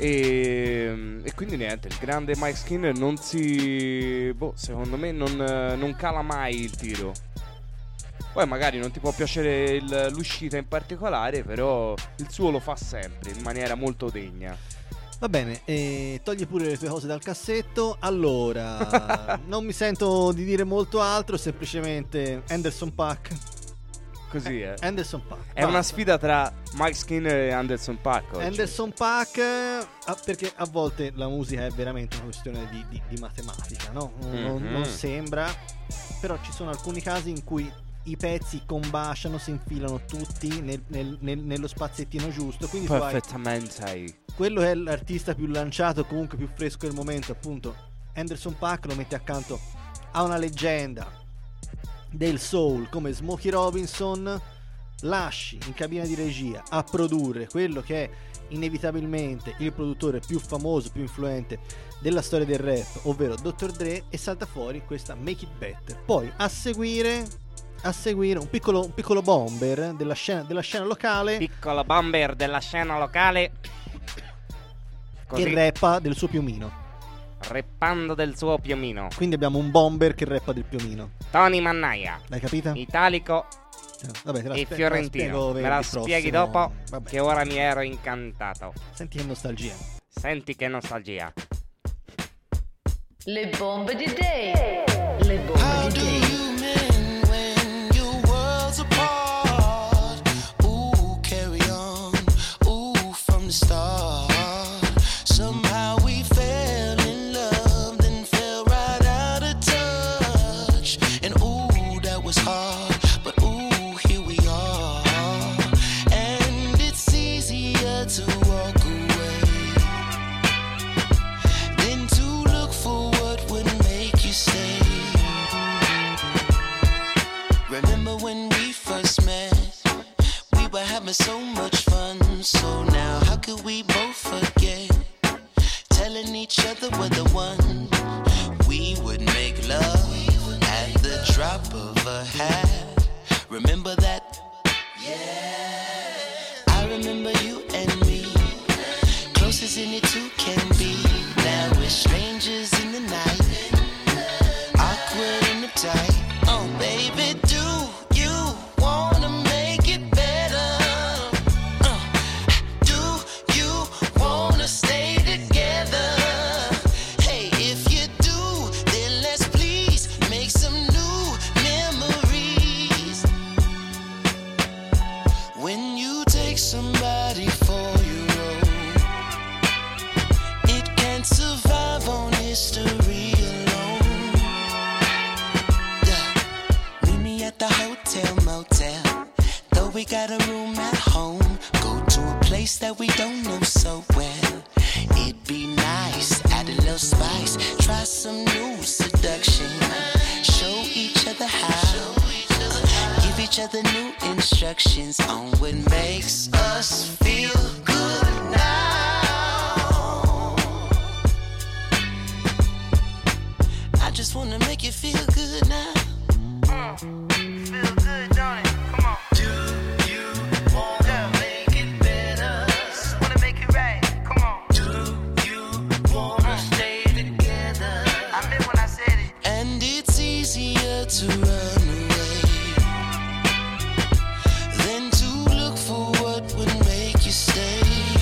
E, e quindi niente, il grande Mike Skinner non si... boh, secondo me non, non cala mai il tiro. Poi magari non ti può piacere il, l'uscita in particolare, però il suo lo fa sempre in maniera molto degna. Va bene, eh, togli pure le tue cose dal cassetto. Allora, non mi sento di dire molto altro, semplicemente Anderson .Paak. Così è. Anderson .Paak. È una sfida tra Mike Skinner e Anderson .Paak oggi. Anderson .Paak, ah, perché a volte la musica è veramente una questione di, di, di matematica, no? Non, Mm-hmm. non sembra, però ci sono alcuni casi in cui i pezzi combaciano, si infilano tutti nel, nel, nel, nello spaziettino giusto. Quindi tu hai Perfettamente. quello è l'artista più lanciato, comunque più fresco del momento, appunto Anderson .Paak, lo metti accanto a una leggenda del soul come Smokey Robinson, lasci in cabina di regia a produrre quello che è inevitabilmente il produttore più famoso, più influente della storia del rap, ovvero doctor Dre, e salta fuori questa Make It Better. Poi a seguire a seguire un piccolo, un piccolo bomber della scena, della scena locale, Piccolo bomber della scena locale che rappa del suo piumino. Reppando del suo piumino. Quindi abbiamo un bomber che rappa del piumino. Tony Mannaia. L'hai capita? Italico Vabbè, te la e spe- fiorentino. te Me la venerdì spieghi prossimo. dopo, Vabbè. che ora mi ero incantato. Senti che nostalgia. Senti che nostalgia. Le bombe di Day. Le bombe di Day. Start. Somehow we fell in love, then fell right out of touch. And ooh, that was hard, but ooh, here we are. And it's easier to walk away than to look for what would make you stay. Remember when we first met? We were having so much fun, so now how could we both forget? Telling each other we're the one. We would make love at the drop of a hat. Remember that? Yeah. I remember you and me, close as any two can be. Now we're strangers in the night, awkward in the tight. Oh baby, do you wanna make it better? Uh, do you wanna stay together? Hey, if you do, then let's please make some new memories. When you take somebody for your own, it can't survive on history alone. Yeah. Meet me at the hotel motel, though we got a room at home. Go to a place that we don't know so well. It'd be nice, add a little spice, try some new seduction. each other new instructions on what makes us feel good now. I just wanna make you feel good now. Mm. Feel good, don't it? Come on. Do you wanna make it better? Wanna make it right? Come on. Do you wanna stay together? I meant when I said it. And it's easier to run away than to look for what would make you stay.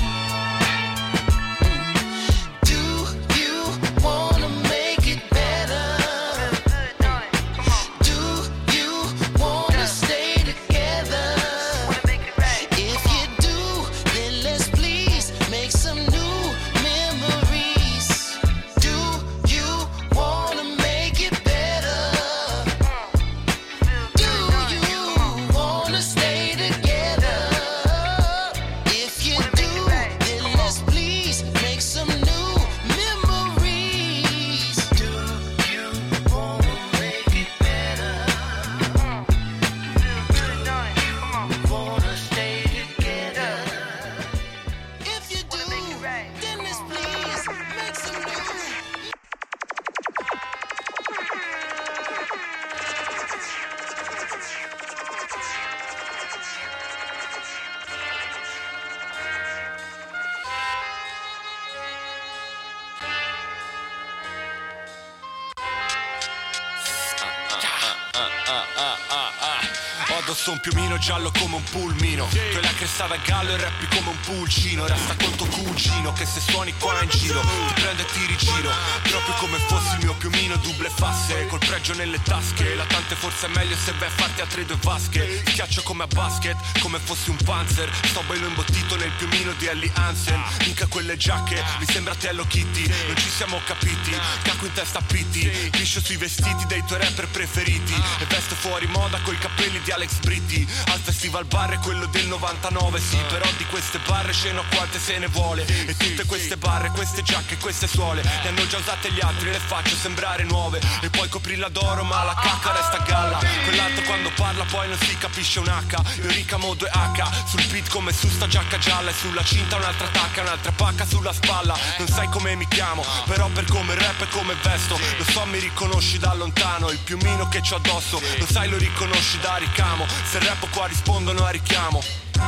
Addosso un piumino giallo come un pulmino, tu hai la cresta da gallo e rappi come un pulcino. Resta con tuo cugino che se suoni qua in giro ti prendo e ti rigiro, proprio come fossi il mio piumino double fasse, col pregio nelle tasche. La tante forse è meglio se vai a farti altre due vasche. Schiaccio come a basket, come fossi un panzer. Sto bello imbottito nel piumino di Ellie Hansen. Mica quelle giacche, mi sembra Hello Kitty. Non ci siamo capiti, cacco in testa a pitti. Liscio sui vestiti dei tuoi rapper preferiti e vesto fuori moda coi capelli di Alex Britti. Al festival bar è quello del novantanove, sì, però di queste barre sceno quante se ne vuole. E tutte queste barre, queste giacche, queste suole le hanno già usate gli altri, le faccio sembrare nuove. E poi coprirla d'oro ma la cacca resta a galla. Quell'altro quando parla poi non si capisce un H. Io ricamo due H sul beat come su sta giacca gialla. E sulla cinta un'altra tacca, un'altra pacca sulla spalla. Non sai come mi chiamo, però per come rap e come vesto lo so, mi riconosci da lontano. Il piumino che c'ho addosso, lo sai, lo riconosci da ricamo. Se rappo qua rispondono a richiamo.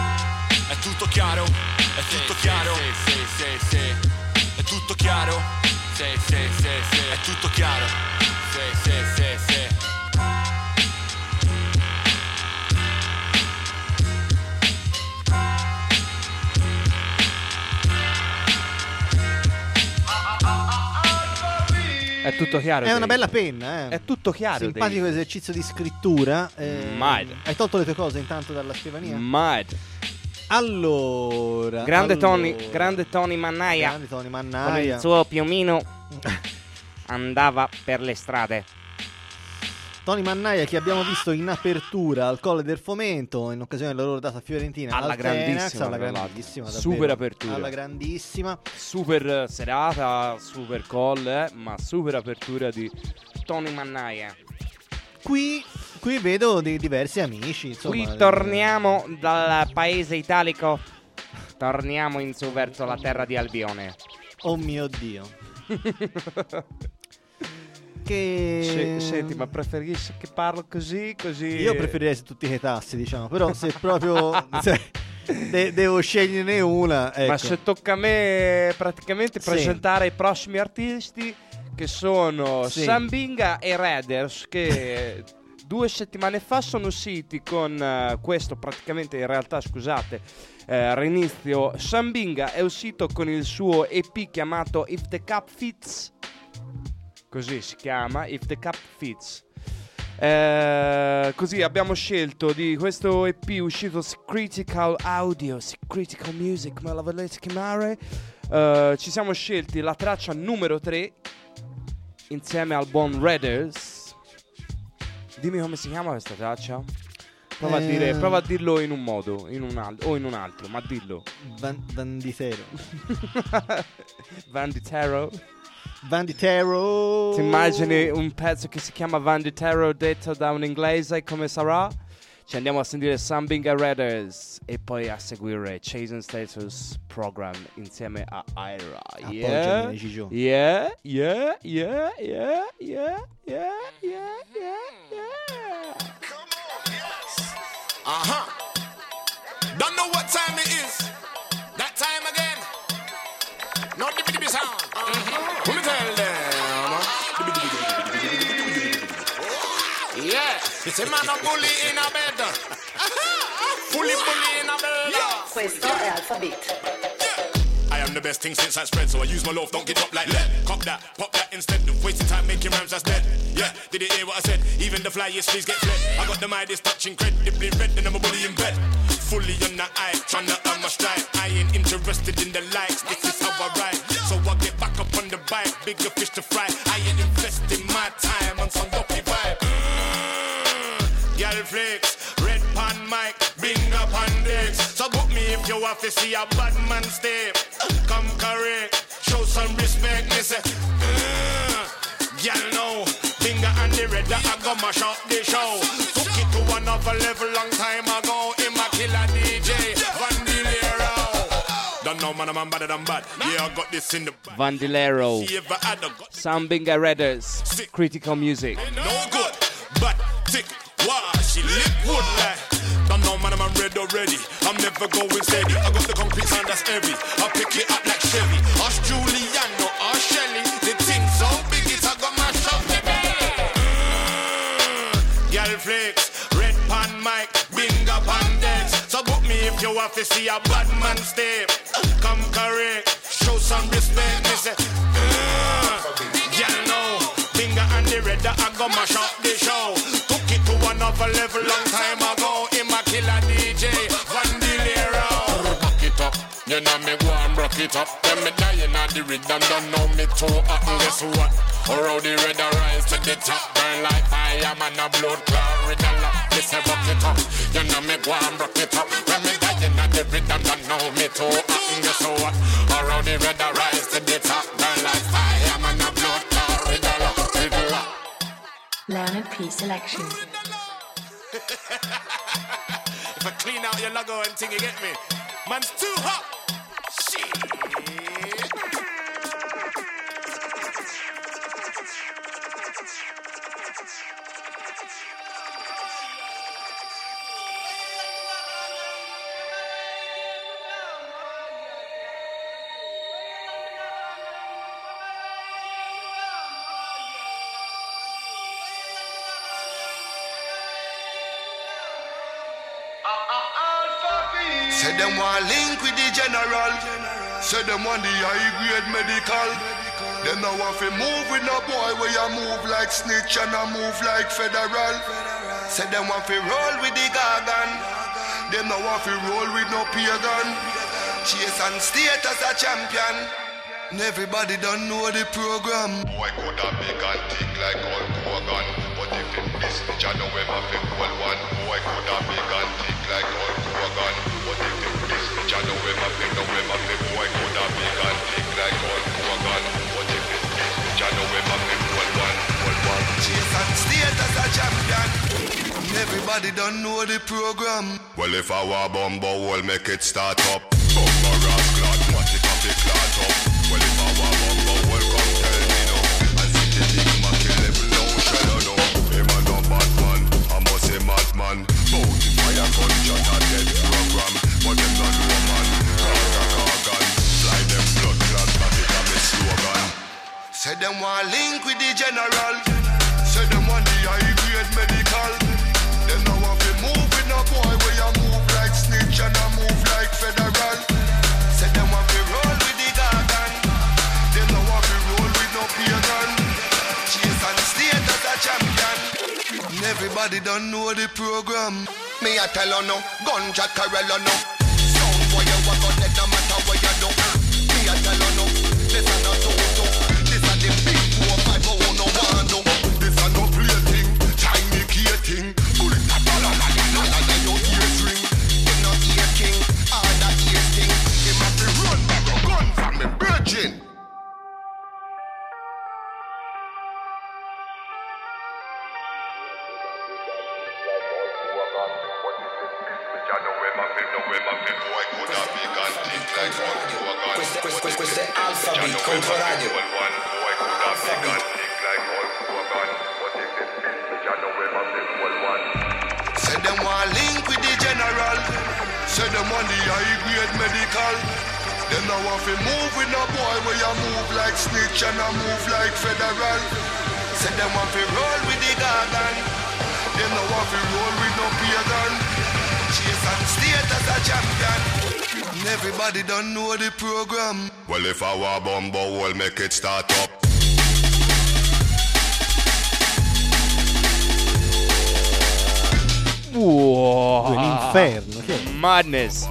È tutto chiaro? È tutto chiaro? Sì, sì, sì, sì. È tutto chiaro? Sì, sì, sì, sì. È tutto chiaro? Sì, sì, sì, sì. È tutto chiaro. È una bella penna, eh. È tutto chiaro. Simpatico Dave. esercizio di scrittura. Eh, Mai. Hai tolto le tue cose intanto dalla scrivania? Mai. Allora. Grande allora. Tony, grande Tony Mannaia. Grande Tony Con Mannaia. il suo piumino andava per le strade. Tony Mannaia che abbiamo visto in apertura al Colle del Fomento in occasione della loro data fiorentina alla al Tenax, grandissima, alla tra grandissima l'altro. davvero, Super apertura, alla grandissima, super serata, super call, eh, ma super apertura di Tony Mannaia. Qui, qui vedo dei diversi amici, insomma. Qui torniamo dal paese italico, torniamo in su verso la terra di Albione. Oh mio Dio. Che... Se, senti, ma preferisci che parlo così, così? Io preferirei se tutti i tassi, diciamo, però se proprio se de- devo sceglierne una, ecco. Ma se tocca a me praticamente Sì. presentare i prossimi artisti, che sono Sì. Sambinga e Raiders, che due settimane fa sono usciti con eh, questo, praticamente in realtà, scusate, eh, rinizio. Sambinga è uscito con il suo E P chiamato If the Cup Fits, così si chiama, If the Cup Fits. Eh, così abbiamo scelto di questo E P uscito Critical Audio, Critical Music, come la volete chiamare. Eh, ci siamo scelti la traccia numero tre insieme al buon Raiders. Dimmi come si chiama questa traccia. Prova, Eh. a dire, prova a dirlo in un modo, in un al- o in un altro, ma dillo. Van- Vanditero. Vanditero. Vanditero. Ti immagini un pezzo che si chiama Vanditero detto da un inglese, come sarà? Ci andiamo a sentire Sambinga Raiders e poi a seguire Chasing Status Program insieme a Ira. Yeah, Appoggiami, Gigio. yeah, yeah, yeah, yeah, yeah, yeah, yeah, yeah. Uh-huh. Don't know what time it is. That time again. No dibby dibby sound. Uh-huh. Let me tell them. Yeah, it's a man of bully in a bed. Fully bully in a bed. Questo è Alphabet. I am the best thing since I spread, so I use my loaf, don't get up like lead. Cop that, pop that instead of wasting time making rhymes that's dead. Yeah, did you hear what I said? Even the flyest fleas get fled. I got the Midas touch incredibly red, and I'm a bully in bed. Fully on the eye, tryna earn my stride. I ain't interested in the likes, this is how I ride. So I get back up on the bike, bigger fish to fry. I ain't investing my time on some dopey vibe. Girl flicks, red pan mic, bing up on dicks. So book me if you have to see a bad man step. Come correct, show some respect, me say. Uh, girl no, finger on the red, I go mash up the show. Took it to another level long time ago. In my killer D J, Vandilero. Don't know man, I'm better than bad. Yeah, I got this in the back. Vandilero, See if I had a got Sambinga Raiders, Critical Music. no good, but tick. Wow, she lip wood like. Don't know man, I'm red already. I'm never going steady. I got the concrete sound that's heavy. I pick it up like Chevy. Us Juliano, us Shelly. The thing so big it I got my shop. Girl flex, red pan mic, bing up on decks. So book me if you have to see a bad man step. Come correct, show some respect. Me say, girl no, finger on the red, I got my shop the show. Another level long time ago. In my killer D J Vandilero. Rock it up, you know me go and rock it up. Then me dying at the rhythm, don't know me too hot. And guess what? Or how the red rise to the top. Burn like fire, man a blood clot. Red a lot, me say rock it up. You know me go and rock it up. When me dying at the rhythm, don't know me too hot. And guess what? Or how the red rise to the top. Burn like fire, man a blood clot. Red a lot, red a lot. Leonard P. Selection. If I clean out your logo and thing, you get me? Man's too hot. Shit. Say them want link with the general. Say them want the high grade medical. Them now want to move with no boy where you move like snitch and I move like federal. Say them want to roll with the gargan. Them now want to roll with no pagan. Chase and state as a champion. And everybody don't know the program. Boy could have big and thick like Hulk Hogan. But if in this bitch I know him a fit well one. Boy could have big and thick like Hulk Hogan. But if in this bitch I know him a fit, know him a fit. Boy could have big and thick like Hulk Hogan. But if in this bitch I know him a fit well one. Well one. Chase and state as a champion. And everybody don't know the program. Well if I were bumbo, we'll make it start up. Bumbo ras clot, what it up, it clot up. Well if I were bumbo, welcome tell me no. I see the thing my kill him no shell no. Him a no bad man, I must say madman. Bout if I a gunshot a dead program. But them not woman, carga cargan. Fly them blood clot, back it a me slogan. Say them want link with the general. Say them want the high grade medical. Them now want to move with no boy where you move like snitch and I move like federal. Say them want to roll with the gargan. Them now want to roll with no pagan. Chase and state as a champion. And everybody don't know the program. Me a tell her no, gunshot Carella no. Sound boy you walk on it no matter what you do. Me a tell her no, this a no so-so. This a the big four five oh no one no. This a no play thing, tiny key thing. Bullet a dollar la la la la la your ears ring. Him no ear king, all that ear thing. Him a fi run back a gun from him virgin. Boy Questo, questo, questo è Alphabet contro radio. Say them want link with the general. Say them want the high grade medical. Them now want to move with no boy where you move like snitch and I move like federal. Say them want to roll with the garden. Them now want to roll with no pagan. Chase and state as a champion. And everybody don't know the program. Well, if I were bumbo, we'll make it start up. Wow. L'inferno, che è? Madness.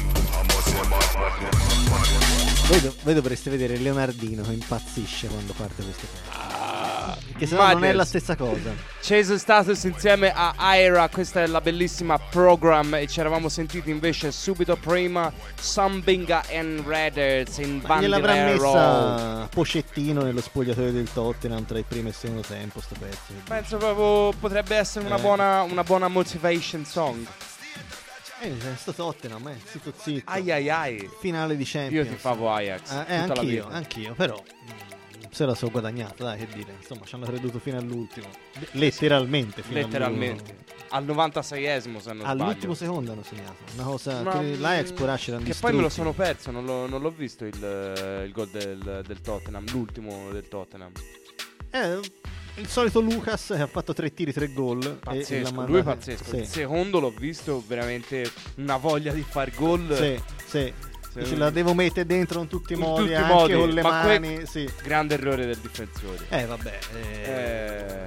Voi, do- voi dovreste vedere Leonardino che impazzisce quando parte queste cose. Che se no Madness. non è la stessa cosa. Chase Status insieme a Ira, questa è la bellissima Program. E ci eravamo sentiti invece subito prima Sambinga and Raiders in Ma gliel'avrà Bandolero. messa Pochettino nello spogliatoio del Tottenham tra il primo e il secondo tempo sto pezzo. Penso proprio potrebbe essere una Eh. buona, una buona motivation song. Eh, sto Tottenham, eh, zitto zitto. Ai ai ai. Finale di Champions. Io ti favo Ajax. Eh, eh, tutta la anch'io, vita. anch'io, però mm, se la so guadagnata, dai, che dire. Insomma, ci hanno creduto fino all'ultimo. Letteralmente fino Letteralmente. all'ultimo. Al novantaseiesimo se non All'ultimo sbaglio. secondo hanno segnato. Una cosa Ma, che l'Ajax può nascere Che poi me lo sono perso, non l'ho, non l'ho visto il, eh, il gol del, del Tottenham, l'ultimo del Tottenham. Eh, il solito Lucas che ha fatto tre tiri, tre gol. e- Pazzesco, e l'ha lui è mandata- pazzesco. Sì. Il secondo l'ho visto, veramente una voglia di far gol. Sì, sì. Se- Ce la devo mettere dentro in tutti i In modi, tutti i anche modi, con le ma que- mani. Sì. Grande errore del difensore. Eh, vabbè. eh, Eh,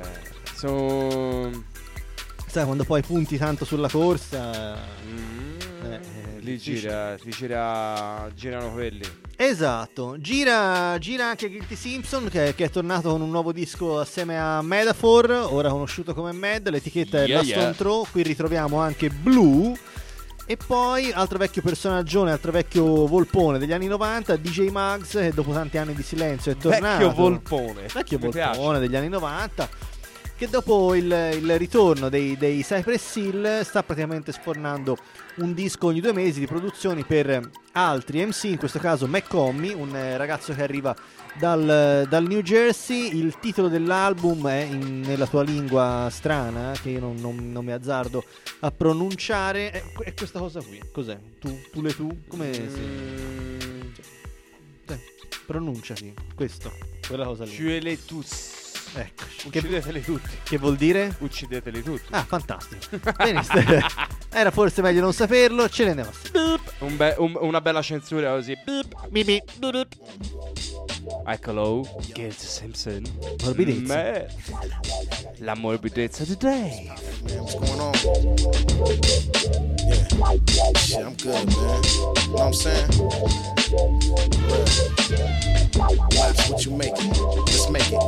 so- Sai, quando poi punti tanto sulla corsa. Mm, eh, eh, lì difficile. gira, lì gira, girano quelli. Esatto, gira, gira anche Guilty Simpson che, che è tornato con un nuovo disco assieme a Metaphor, ora conosciuto come Mad, l'etichetta è Yeah, Last yeah. on Throw, qui ritroviamo anche Blue e poi altro vecchio personaggione, altro vecchio volpone degli anni novanta, D J Muggs che dopo tanti anni di silenzio è tornato. Vecchio volpone. Vecchio Mi volpone piace. degli anni novanta che dopo il, il ritorno dei, dei Cypress Hill sta praticamente sfornando un disco ogni due mesi di produzioni per altri M C, in questo caso McCommy, un eh, ragazzo che arriva dal, dal New Jersey. Il titolo dell'album è in- nella tua lingua strana che io non, non- non mi azzardo a pronunciare, è, è questa cosa qui. Cos'è? Tu, tu le tu? Come si... Cioè, pronunciati questo, quella cosa lì. Tuez tous. Ecco, Uccideteli tutti. Che vuol dire? Uccideteli tutti. Ah, fantastico. Benissimo. Era forse meglio non saperlo. Ce ne andiamo. Un be- un- una bella censura così. Bibi. Eccolo, Guilty Simpson. Morbidezza. Me- La morbidezza di Dave. What's going on? Yeah. Shit, I'm good, man. You know what I'm saying? Real. Life's what you make it. Let's make it.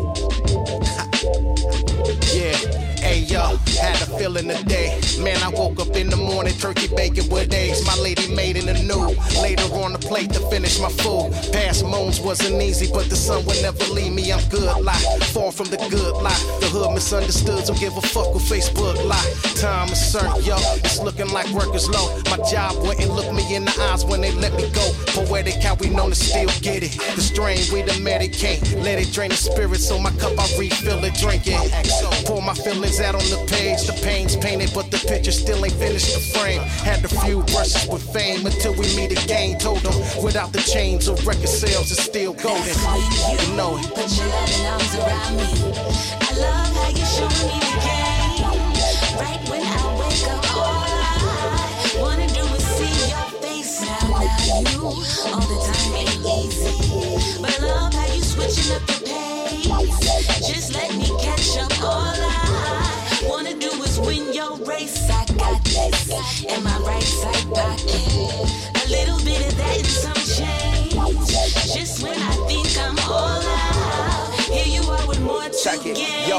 Yeah, hey yo, had a feeling today. Man, I woke up in the morning, turkey bacon with eggs. My lady made in the new. Later on the plate to finish my food. Past moons wasn't easy, but the sun would never leave me. I'm good, lie. Far from the good lie. The hood misunderstood, don't give a fuck with Facebook lie. Time is certain, yo. It's looking like work is low. My job wouldn't look me in the eyes when they let me go. Poetic how we known to still get it. The strain we the medicate. Let it drain the spirit, so my cup I refill it, drink it. Pour my feelings out on the page. The pain's painted, but the picture still ain't finished the frame. Had a few brushes with fame until we meet again. Told them without the chains or record sales, it's still golden. You know it. Put your loving arms around me. I love how you show me the game. Right when I wake up, all I wanna do is see your face. Now, now you, all the time ain't easy. But I love how you switching up the pace. Just let me catch up. All I wanna do is win your race. I got this in my right side pocket. A little bit of that and some change. Just when I think I'm all out, here you are with more to Check it. gain. Yo, when life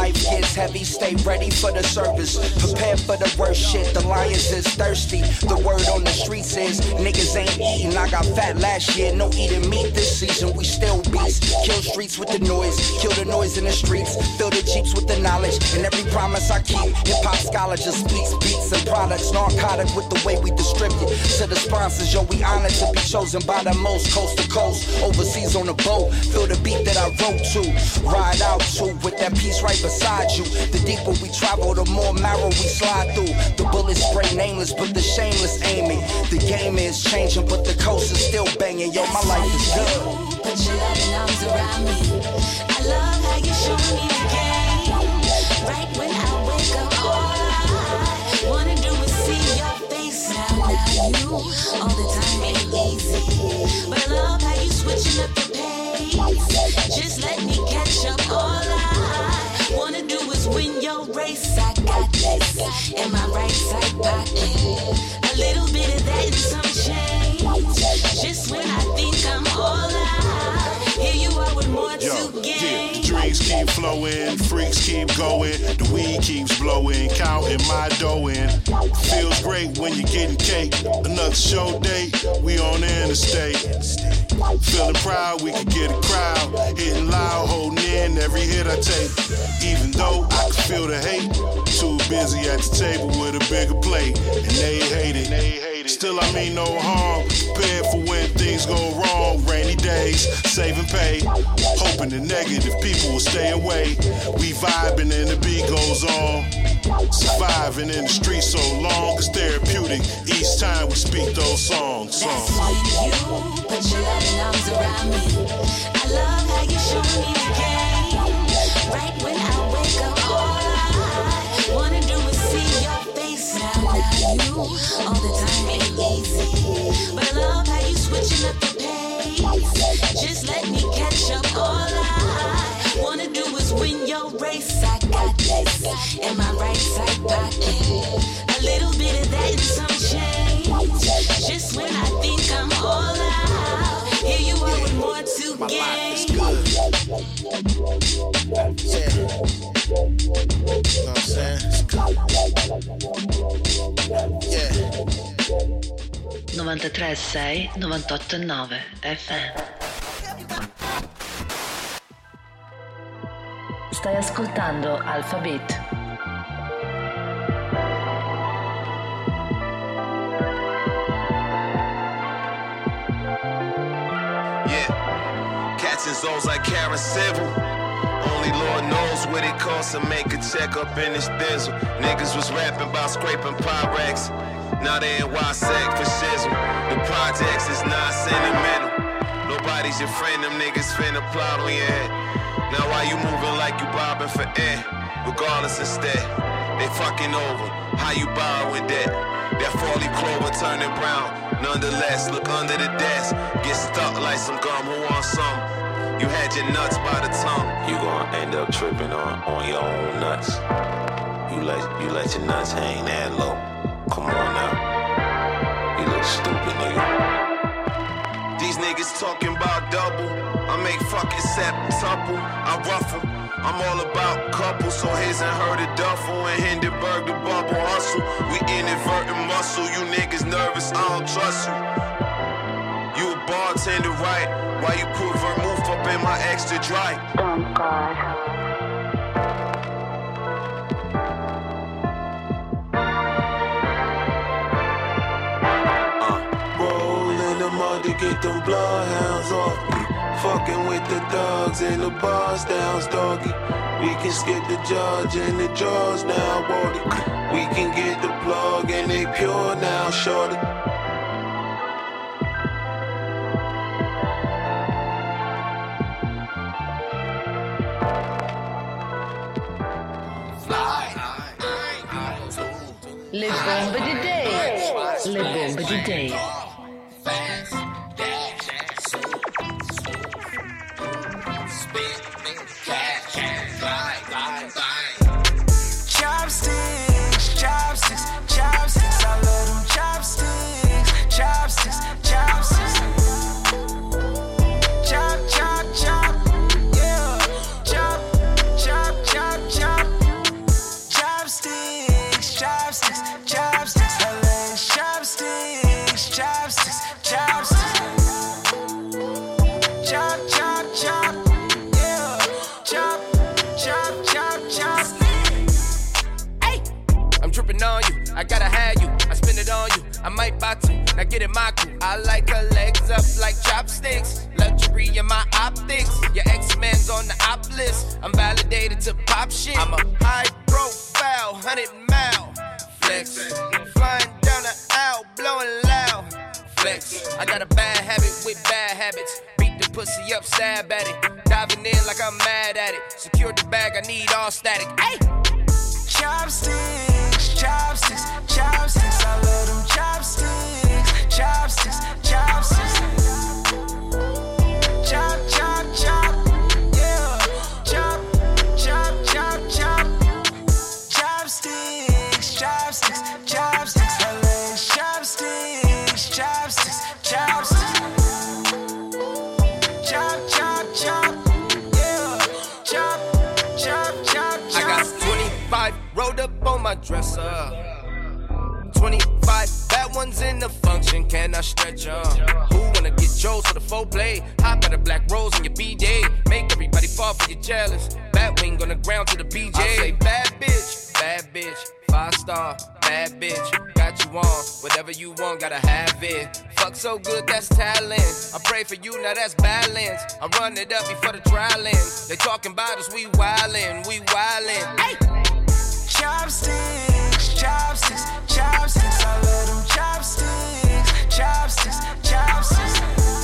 life gets heavy, stay ready for the service. Prepare for the worst shit, the lions is thirsty. The word on the streets is niggas ain't eating. I got fat last year, no eating meat this season. We still beasts, kill streets with the noise, kill the noise in the streets, fill the jeeps with the knowledge. And every promise I keep, hip-hop scholar just speaks beats and products, narcotic with the way we distribute. To the sponsors, yo, we honored to be chosen by the most, coast to coast, overseas on a boat. Feel the beat that I wrote to, ride out to, with that piece right beside you. The deeper we travel, the more marrow we slide through. The bullets spray nameless, but the shameless aiming. The game is changing, but the coast is still banging. Yo, my life is good. Put your loving arms around me. I love how you show me the game. Right when I wake up, all I wanna do is see your face. Now, now you, all the time ain't easy, but I love how you switching up the pace. Just let me catch up. All I wanna do is win your race. I got this in my right side pocket. A little bit of that and some change. Just when I think I'm all out, here you are with more Yo, to gain. Yeah, the drinks keep flowing, freaks keep going, the weed keeps blowing, counting my dough in. Feels great when you're getting cake. Another show date, we on the interstate. Feeling proud, we can get a crowd. Hitting loud, holding in every hit I take. Even though I can feel the hate, too busy at the table with a bigger plate. And they hate it. Still, I mean no harm. Prepared for when things go wrong. Rainy days, saving pay. Hoping the negative people will stay away. We vibing and the beat goes on. Surviving in the street so long, it's therapeutic. Each time we speak those songs. songs. That's when you put your loving arms around me. I love how you show me the game. Right when I wake up, all I wanna do is see your face. Now, now you, all the time ain't easy, but I love how you switching up the pace. Just let me catch up. All I wanna do is win your race. I got this in my right side pocket. A little bit of that and some change. Just when I think I'm all out, here you are with more to My gain. life is good. Yeah. You know what I'm saying? It's good. Yeah. novantatré sei novantotto nove F M. Stai ascoltando Alphabet. Cats and zones like Karen Civil. Only Lord knows what it costs to make a check up in this thizzle. Niggas was rapping about scraping Pyrex. Now they in Y-Sec for shizzle. The projects is not sentimental. Nobody's your friend, them niggas finna plot on your head. Now why you moving like you bobbing for air? Regardless instead, they fucking over. How you borrowing debt? That four-leaf clover turning brown. Nonetheless, look under the desk. Get stuck like some gum, who wants some? You had your nuts by the tongue. You gon' end up tripping on, on your own nuts. You let, you let your nuts hang that low. Come on now. You look stupid, nigga. These niggas talking about double. I make fucking septuple. I ruffle. I'm all about couples, so his and her the duffel and Hindenburg the bubble hustle. We inadvertent muscle, you niggas nervous, I don't trust you. You a bartender, right? Why you put vermouth up in my extra dry? Oh God. Uh, roll in the mud to get them bloodhounds off me. Fucking with the dogs and the bars down, doggy. We can skip the judge and the jaws now, Wardy. We can get the plug and they pure now, shorty. Le bombe di Dave. Le bombe di Dave. Chopsticks, chopsticks, chopsticks. I love them chopsticks, chopsticks, chopsticks. Chop, chop, chop, yeah. Chop, chop, chop, chop. dripping on you. I gotta have you, I spend it on you. I might buy two, now get in my crew. I like her legs up like chopsticks. Luxury in my optics. Your X-Men's on the op list. I'm validated to pop shit. I'm a high profile, hundred mile flex. Flying down the aisle, blowing loud flex. I got a bad habit with bad habits. Beat the pussy up, stab at it. Diving in like I'm mad at it. Secure the bag, I need all static. Hey! Chopsticks, chopsticks, chopsticks. I love them chopsticks, chopsticks, chopsticks. Chop, chop, chop, yeah. Chop, chop, chop, chop. Chopsticks, chopsticks, chopsticks. I love chopsticks, chopsticks, chopsticks. Chop, chop, chop, yeah. Chop, chop, chop, chop. I got twenty-five rolled up on my dresser. twenty-five bad ones in the function, can I stretch them? Who wanna get Joe's for the full play? Hop out of black rose in your B J. Make everybody fall for your jealous. Bat wing on the ground to the B J. I say bad bitch, bad bitch. Five star, bad bitch. Got you on, whatever you want, gotta have it. Fuck so good, that's talent. I pray for you, now that's balance. I run it up before the trial ends. They talking about us, we wildin', we wildin'. Hey! Chopsticks, chopsticks, chopsticks. I love them chopsticks, chopsticks, chopsticks.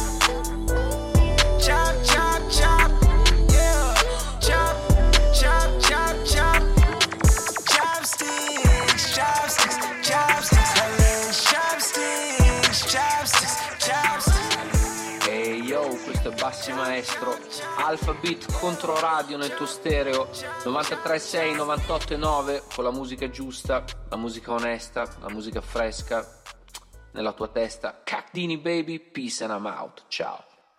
Chop, chop, chop, yeah. Chop, chop, chop, chop. Chopsticks, chopsticks, chopsticks. I love chopsticks, chopsticks, chopsticks. Ehi hey, yo, questo è Bassi Maestro. Alpha Beat Controradio nel tuo stereo novantatré sei, novantotto nove, con la musica giusta, la musica onesta, la musica fresca nella tua testa. Cacdini baby, peace and I'm out. Ciao.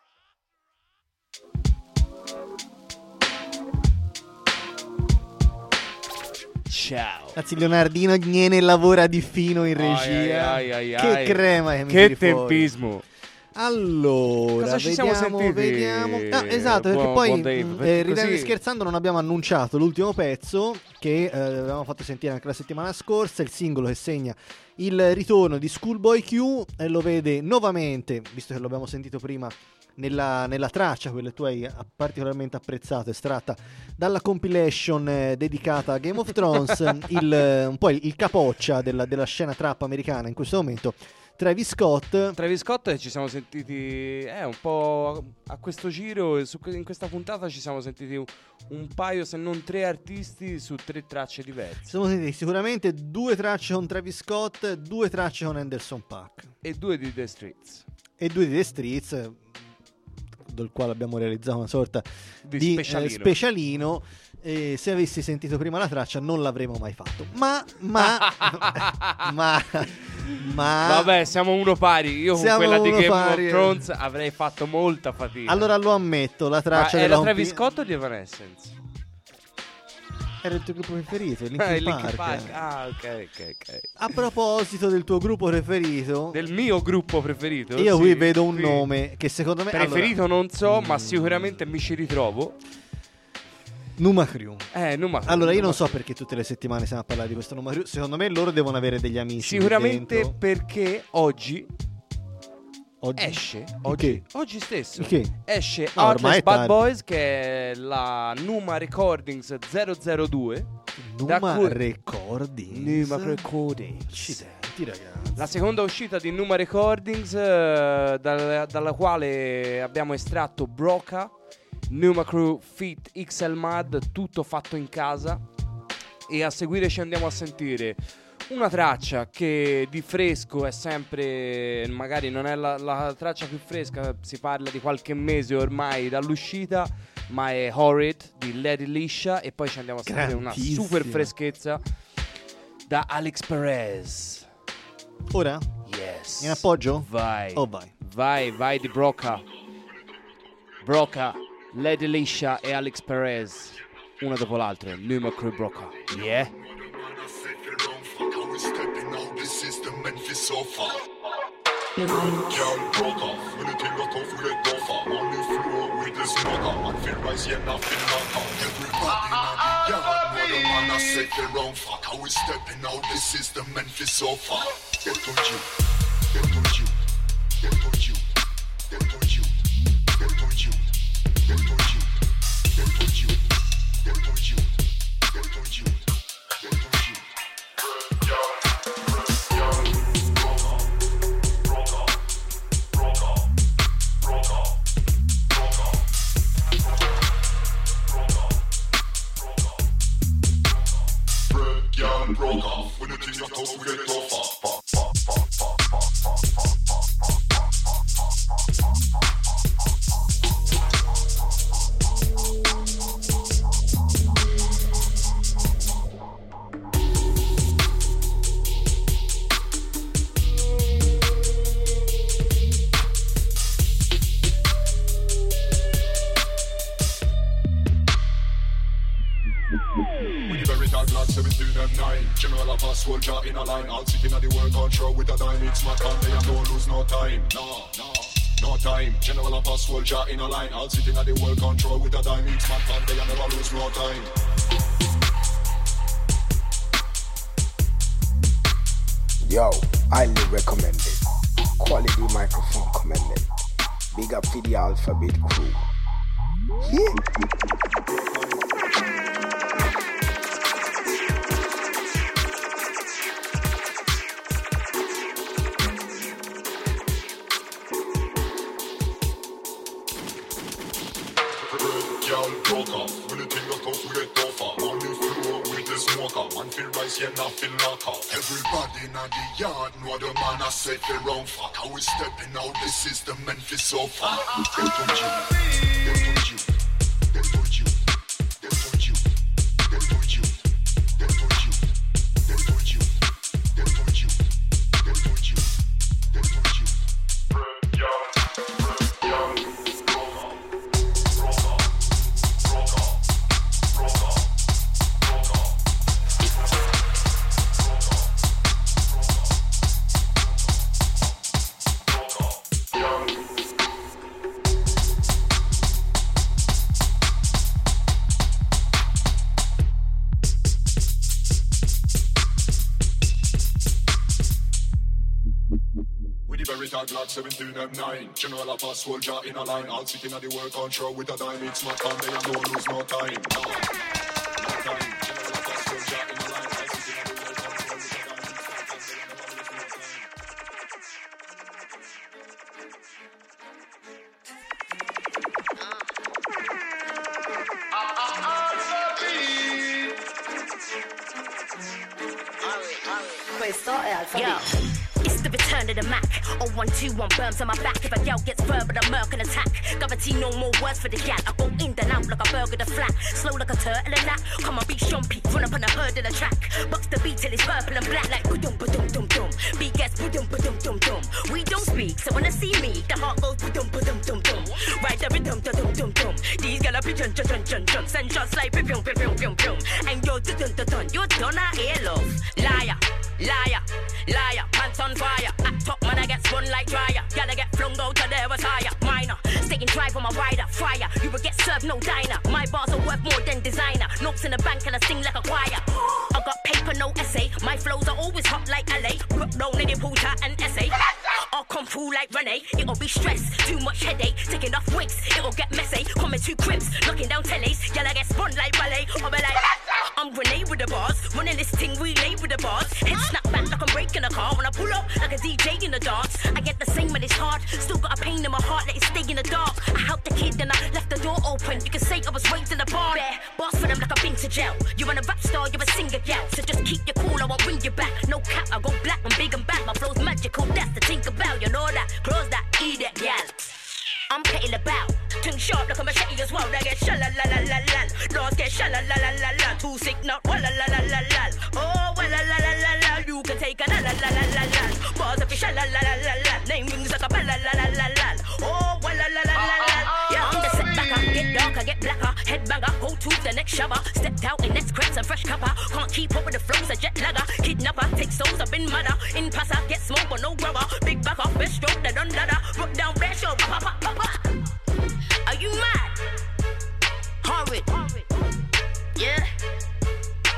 Ciao. Ragazzi, Leonardino Gnene lavora di fino in regia. Ai, ai, ai, che ai. crema che mi Che tiri fuori. tempismo. Allora, Cosa ci vediamo, siamo sentiti? vediamo. Ah, esatto, perché Buon- poi buon Dave, mh, perché eh, ridendo e così- scherzando non abbiamo annunciato l'ultimo pezzo che eh, avevamo fatto sentire anche la settimana scorsa, il singolo che segna il ritorno di Schoolboy Q e lo vede nuovamente, visto che l'abbiamo sentito prima nella, nella traccia, quella che tu hai particolarmente apprezzato, estratta dalla compilation eh, dedicata a Game of Thrones, il, eh, un po' il, il capoccia della, della scena trap americana in questo momento, Travis Scott. Travis Scott ci siamo sentiti eh, un po' a questo giro, su, in questa puntata ci siamo sentiti un, un paio se non tre artisti su tre tracce diverse. Siamo sentiti sicuramente due tracce con Travis Scott, due tracce con Anderson .Paak e due di The Streets. E due di The Streets, del quale abbiamo realizzato una sorta Di di, specialino. eh, specialino. E se avessi sentito prima la traccia non l'avremmo mai fatto. Ma, ma, ma, ma Vabbè, siamo uno pari. Io con Siamo quella di uno Game pari, of eh. Thrones avrei fatto molta fatica. Allora lo ammetto, la Ma traccia era della Travis compi- Scott o di Evanescence? Era il tuo gruppo preferito, il Ah, Linkin il Linkin Park. Park. Ah, ok, ok, ok. A proposito del tuo gruppo preferito, Del mio gruppo preferito? io sì, qui vedo un qui. nome che secondo me Preferito allora, non so, ma sicuramente mi ci ritrovo. Numa Crew. Eh, Numa Crew, Allora io Numa non so perché tutte le settimane stiamo a parlare di questo Numa Crew. Secondo me loro devono avere degli amici lì Sicuramente dentro. perché oggi Oggi? esce oggi, Che? oggi stesso Che? esce No, ormai Heartless è Bad tardi. Boys, che è la Numa Recordings zero zero due. Numa da cui- Recordings. Numa Recordings. Accidenti, ragazzi. La seconda uscita di Numa Recordings, eh, dalla, dalla quale abbiamo estratto Broca, Numa Crew Feat X L Mad, tutto fatto in casa. E a seguire ci andiamo a sentire una traccia che di fresco è sempre, magari non è la, la traccia più fresca, si parla di qualche mese ormai dall'uscita, ma è Horrid di Lady Liscia. E poi ci andiamo a sentire una Grandissima. super freschezza da Alex Perez. Ora? Yes. In appoggio? Vai. Oh, vai. Vai, vai di Broca. Broca, Lady Liscia e Alex Perez. Uno dopo l'altro. Numa Crew Broca. Yeah. Girl broke off, when the thing got off, we let go far. On the floor with the smoker, man feel rise, yeah, nothing knock off. Everybody in the yard, the man I say the wrong fuck. How we stepping out the system and feel so far. Get on you, get on you, get on you, get on you, get on you, get on you, get on you, get on you, get on you, get on you. Broke off when the thing you told we get tougher. General of a soldier in a line, all sitting at the work on show with a dime. It's my time, they don't lose no time. No, no, no time. General of a soldier in a line, all sitting at the work on show with a dime. It's my time, they never lose no time. Yo, highly recommended. Quality microphone commended. Big up for the Alphabet crew. Yeah. Man feel rise, yeah, not feel knock out. Everybody in the yard know the man I say the wrong fuck. How we stepping out the system and feel so far. Get on you, get on you, get on you, get on you, get on you, get on you, get on you, get on you, get on you, get on you. Red young, red young, rock on, rock on, rock on, rock on. Glock seventeen M nine. General of a soldier in a line, all sitting at the work on show with a dime. It's my time, they don't lose no time. No, no time. General of a soldier in a line, all sitting at the work on show with a dime. It's my time, they never lose no time. Questo è Alphabet. It's the return of the Mac. Oh one two one burns on my back. If a gal gets verbal, a murk and attack. Gravity, no more words for the gal. I go in and out like a burger to flat. Slow like a turtle and that. Come on, beat Shumpy, run up on the herd of the track. Bucks the beat till it's purple and black like ba-dum ba-dum dum dum. Beat gets ba-dum ba-dum dum dum. We don't speak, so when they see me, the heart goes ba-dum ba-dum dum dum. Ride the rhythm da-dum dum dum. These gal are jun jun jun jun jun. Send shots like pim pim pim pim pim. And you're dun dun dun. You're done out here, love. Liar, liar, liar. Pants on fire. At top man I get spun like dryer. Gotta get flung out to there was higher. Minor, staying dry for my rider. Fire, you will get served no diner. My bars are worth more than designer. Notes in the bank and I sing like a choir. I got paper, no essay. My flows are always hot like L A. Put down in the water and essay. I'll come through like Renee. It'll be stress, too much headache. Taking off wigs, it'll get messy. Coming two cribs, knocking down tellies. Y'all get spun like ballet. I'll be like, I'm Renee with the bars. Running this thing, relay with the bars. Head snap back like I'm breaking a car. When I pull up like a D J in the dance. I get the same when it's hard. Still got a pain in my heart, let it stay in the dark. I helped the kid and I left the door open. You can say I was raised in the barn. Bare boss for them like I've been to jail. You ain't a rap star, you're a singer gal. So just keep your cool, I won't bring you back. No cap, I go black, I'm big and back. My flow's magical, that's the think about. You know that, close that, eat it, gal. I'm petting about. Tongue sharp like a machete as well. They get shala la la la la. Doors get shala la la la la. Too sick not walla la la la la. Oh walla la la la la. You can take a la la la la la la. Bars up your shala la la la la. Name rings like a bella la la la la. Oh walla la la la la. Yeah, I'm the setbacker. Get darker, get blacker. Headbanger, go to the next shower. Stepped out in next crepes and fresh copper. Can't keep up with the flows, a jet lagger. Kidnapper, take souls up in mother. In passer, get smoke but no rubber. Big backer, best stroke, they done ladder. Rock down, best show, pop pop pop. Are you mad? Horrid. Yeah.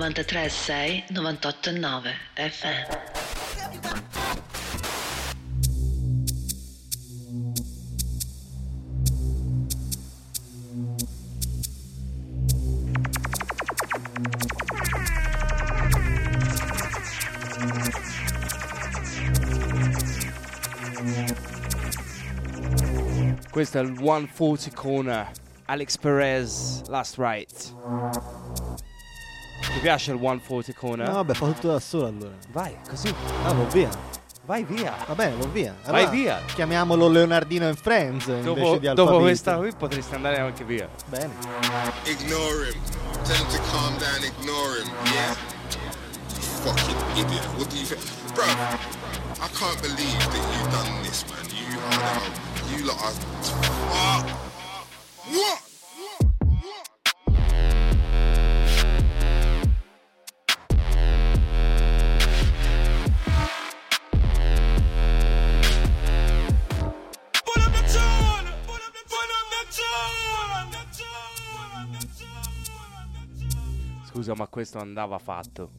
novantatré virgola sei, novantotto virgola nove F M. Questo è il centoquaranta Corner, Alex Perez, Last Right. Ti piace il centoquaranta Corner? No, vabbè, fa tutto da solo allora. Vai, così. Ah, va via. Vai via. Va bene, va via. Vai Allora, via. Chiamiamolo Leonardino and Friends Dopo, invece di dopo Alphabet. questa qui potresti andare anche via. Bene. Ignore him. Tell him to calm down, ignore him. Yeah? You fucking idiot. What do you think? Bro, I can't believe that you done this, man. You are you lot are fuck. What? Scusa, ma questo andava fatto.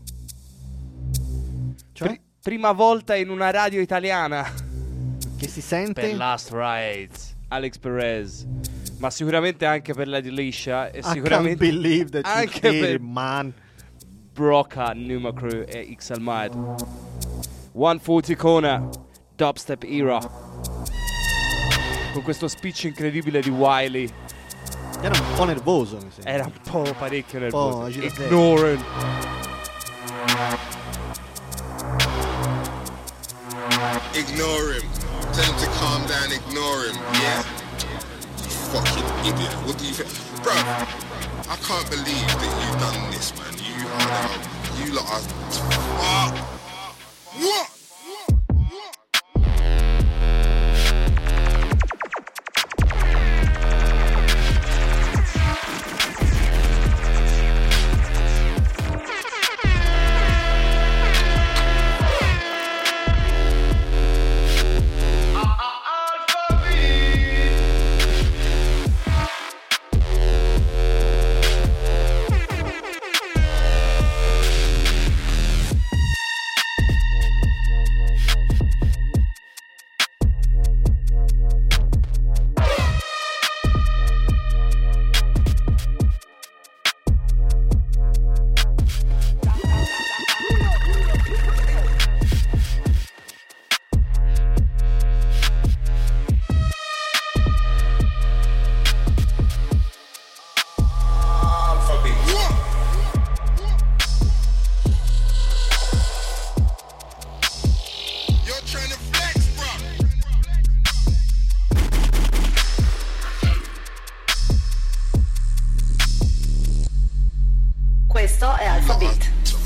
Cioè? Pri- prima volta in una radio italiana. Che si sente? Per Last Rides, Alex Perez. Ma sicuramente anche per Lady Lisha. E I sicuramente can't believe that you anche did per it, man. Broca, Numa Crew e X Almad. centoquaranta Corner, Dubstep Era. Con questo speech incredibile di Wiley. Era un po' nervoso, mi sembra. Era un po' parecchio nervoso. agitato. Ignorant. Ignore him. Tell him to calm down, ignore him. Yeah? You fucking idiot. What do you think? Bro, I can't believe that you done this, man. You are you lot are fuck. What? Questo è Alphabet.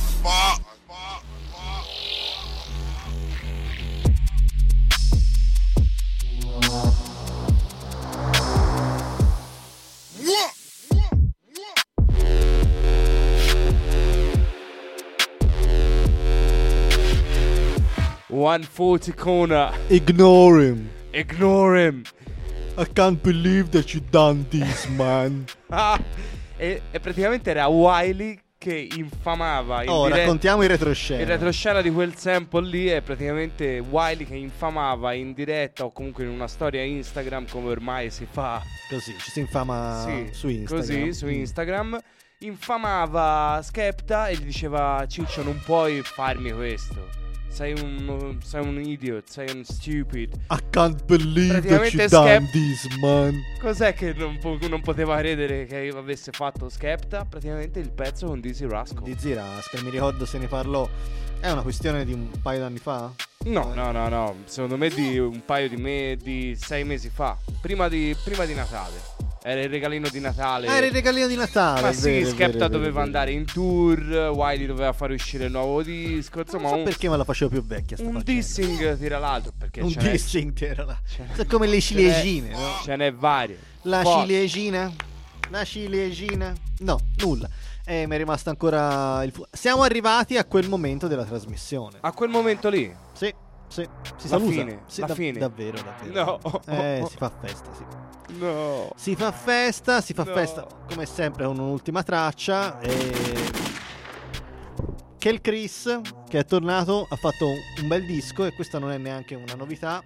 centoquaranta Corner. Ignore him. Ignore him. I can't believe that you done this, man. Ah, e, e praticamente era Wiley che infamava in Oh, diretta, raccontiamo in retroscena. il retroscena di quel sample lì è praticamente Wiley che infamava in diretta o comunque in una storia Instagram, come ormai si fa. Così, ci si infama Sì, su Instagram. Così, su Instagram. Infamava Skepta e gli diceva: Ciccio, non puoi farmi questo. Sei un, sei un idiot, sei un stupid. I can't believe that Praticamente you done Skep- this, man. Cos'è che non, po- non poteva credere che avesse fatto Skepta? Praticamente il pezzo con Dizzy Rascal. Dizzy Rascal, mi ricordo se ne parlò. È una questione di un paio d'anni fa? No, no, no, no. Secondo me di un paio di me di sei mesi fa. Prima di, prima di Natale. Era il regalino di Natale. Ah, era il regalino di Natale. Ma è sì, vero, è Skepta vero, è vero, doveva è vero. andare in tour. Wiley doveva fare uscire il nuovo disco. Insomma, Non so un, perché me la facevo più vecchia sta un faccenda. dissing tira l'altro. Perché Un ce n'è- dissing tira là. ce n'è- Sono come le ce n'è- ciliegine, no? Ce n'è varie. La Poi- ciliegina? La ciliegina? No, nulla. E mi è rimasto ancora il fu- Siamo arrivati a quel momento della trasmissione. A quel momento lì. Sì, sì. Si La saluta. fine, Sì, la da- fine. Davvero, davvero. No. Eh, si fa festa, sì. No. Si fa festa, si fa No. festa come sempre con un'ultima traccia e Kel Chris, che è tornato, ha fatto un bel disco, e questa non è neanche una novità.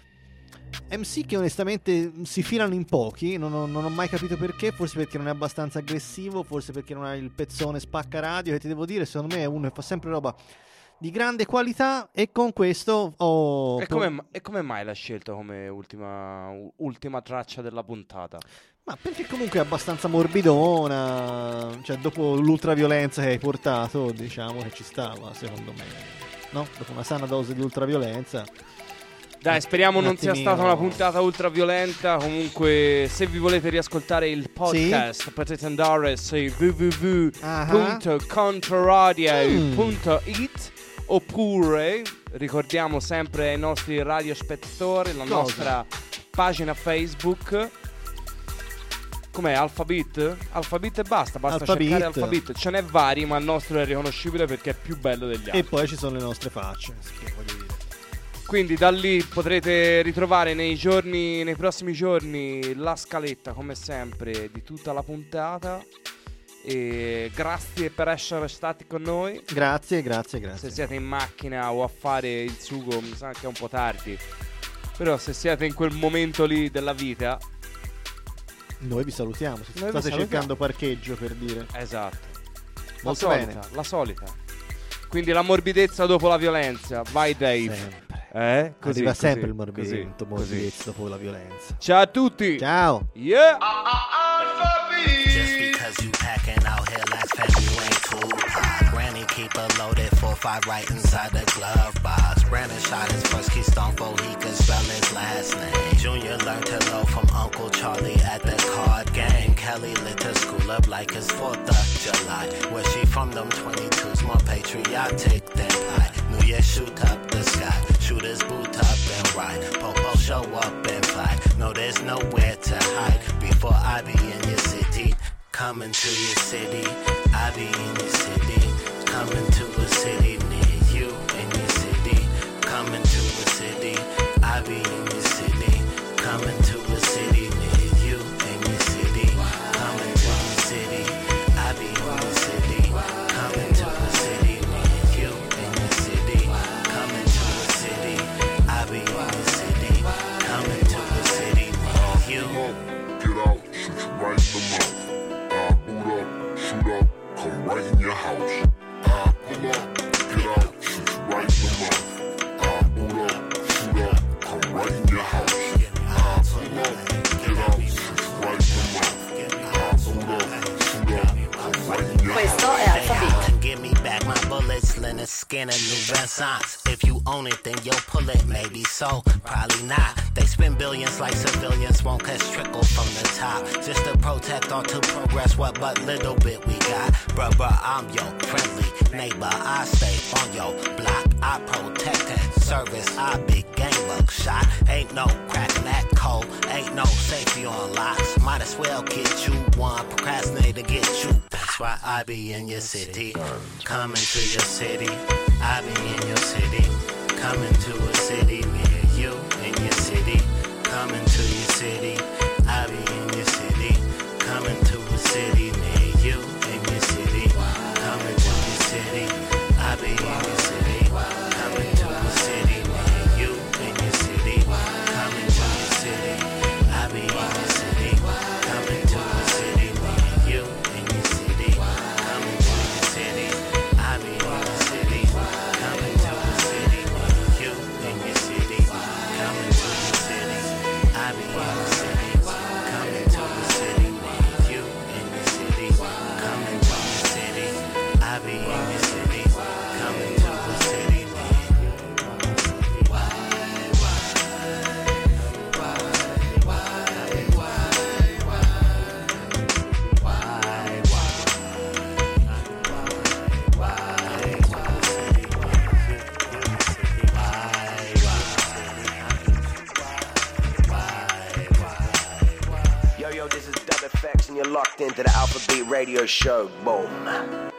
M C che onestamente si filano in pochi, non ho, non ho mai capito perché, forse perché non è abbastanza aggressivo, forse perché non ha il pezzone spacca radio, che ti devo dire, secondo me è uno che fa sempre roba di grande qualità, e con questo ho... E come, e come mai l'ha scelto come ultima, ultima traccia della puntata? Ma perché comunque è abbastanza morbidona, cioè dopo l'ultraviolenza che hai portato, diciamo che ci stava, secondo me, no? Dopo una sana dose di ultraviolenza. Dai, speriamo un non sia attimino... stata una puntata ultraviolenta. Comunque, se vi volete riascoltare il podcast, sì? potete andare su w w w punto controradio punto it, oppure ricordiamo sempre ai nostri radiospettatori la Cosa? nostra pagina Facebook. Com'è? Alphabet? Alphabet e basta, basta Alphabet. cercare Alphabet. Ce n'è vari, ma il nostro è riconoscibile perché è più bello degli altri. E poi ci sono le nostre facce, che voglio dire. Quindi da lì potrete ritrovare nei giorni, nei prossimi giorni, la scaletta come sempre di tutta la puntata. E grazie per essere stati con noi. Grazie, grazie, grazie. Se siete in macchina o a fare il sugo, mi sa che è un po' tardi, però se siete in quel momento lì della vita, noi vi salutiamo. Se Noi state vi cercando parcheggio, per dire. Esatto. Molto la bene. solita, la solita. Quindi la morbidezza dopo la violenza. Vai Dave. Sempre. Eh? Così, Arriva così, sempre il così, morbidimento, morbidezza dopo la violenza. Ciao a tutti. Ciao. Yeah. Just because you packing out here, last family you ain't too hot. Granny keep a loaded four five right inside the glove box. Brandon shot his first keystone before he could spell his last name. Junior learned hello from Uncle Charlie at the card game. Kelly lit her school up like it's fourth of July. Where she from, them twenty-twos more patriotic than I. New Year shoot up the sky, shooters boot up and ride. Popo show up and fly. No, there's nowhere to hide. Before I be in your city, coming to your city. I be in your city, coming to a city near you. In your city, coming to a city. I be in your city, coming to a city near you. In your city, coming to your city. I be in your city, coming to a city near you. In your city, coming to a city. I be in your city, coming to a city near you. Get out, shoot you right in the mouth. I boot up, shoot up, come right in your house. I pull up, get out, shoot you right in the mouth. I boot up, shoot up, come right in your house. I pull up, get out, shoot you right in the mouth. I boot up, shoot up, come right in your house. Questo è Alphabet. Give me back my bullets, linen skin and new renaissance. If you own it, then you'll pull it. Maybe so, probably not. They spend billions like civilians, won't catch trickle from the top. Just to protect or to progress what but little bit we got. Bruh, bruh, I'm your friendly neighbor. I stay on your block. I protect and service. I big game buckshot. Ain't no cracking that code. Ain't no safety on locks. Might as well get you one. Procrastinate to get you. That's why I be in your city. Coming to your city. I be in your city. Coming to a city near you. In your city. Coming to your city. I be in your city. Coming to a city near you. In your city. Coming to your city. I be in your city. Coming to a city near you. In your city. Coming to your city. I be in your city. Coming to a city near you. In your city. Coming to your city. I be in your city. Coming to a city near you. In your city. Coming to your city. I be in your city. Coming to a city near you. In your city. Coming to your city. I be in your city. Coming to a city Yo, yo, this is Dub Effects, and you're locked into the Alphabet Radio Show. Boom.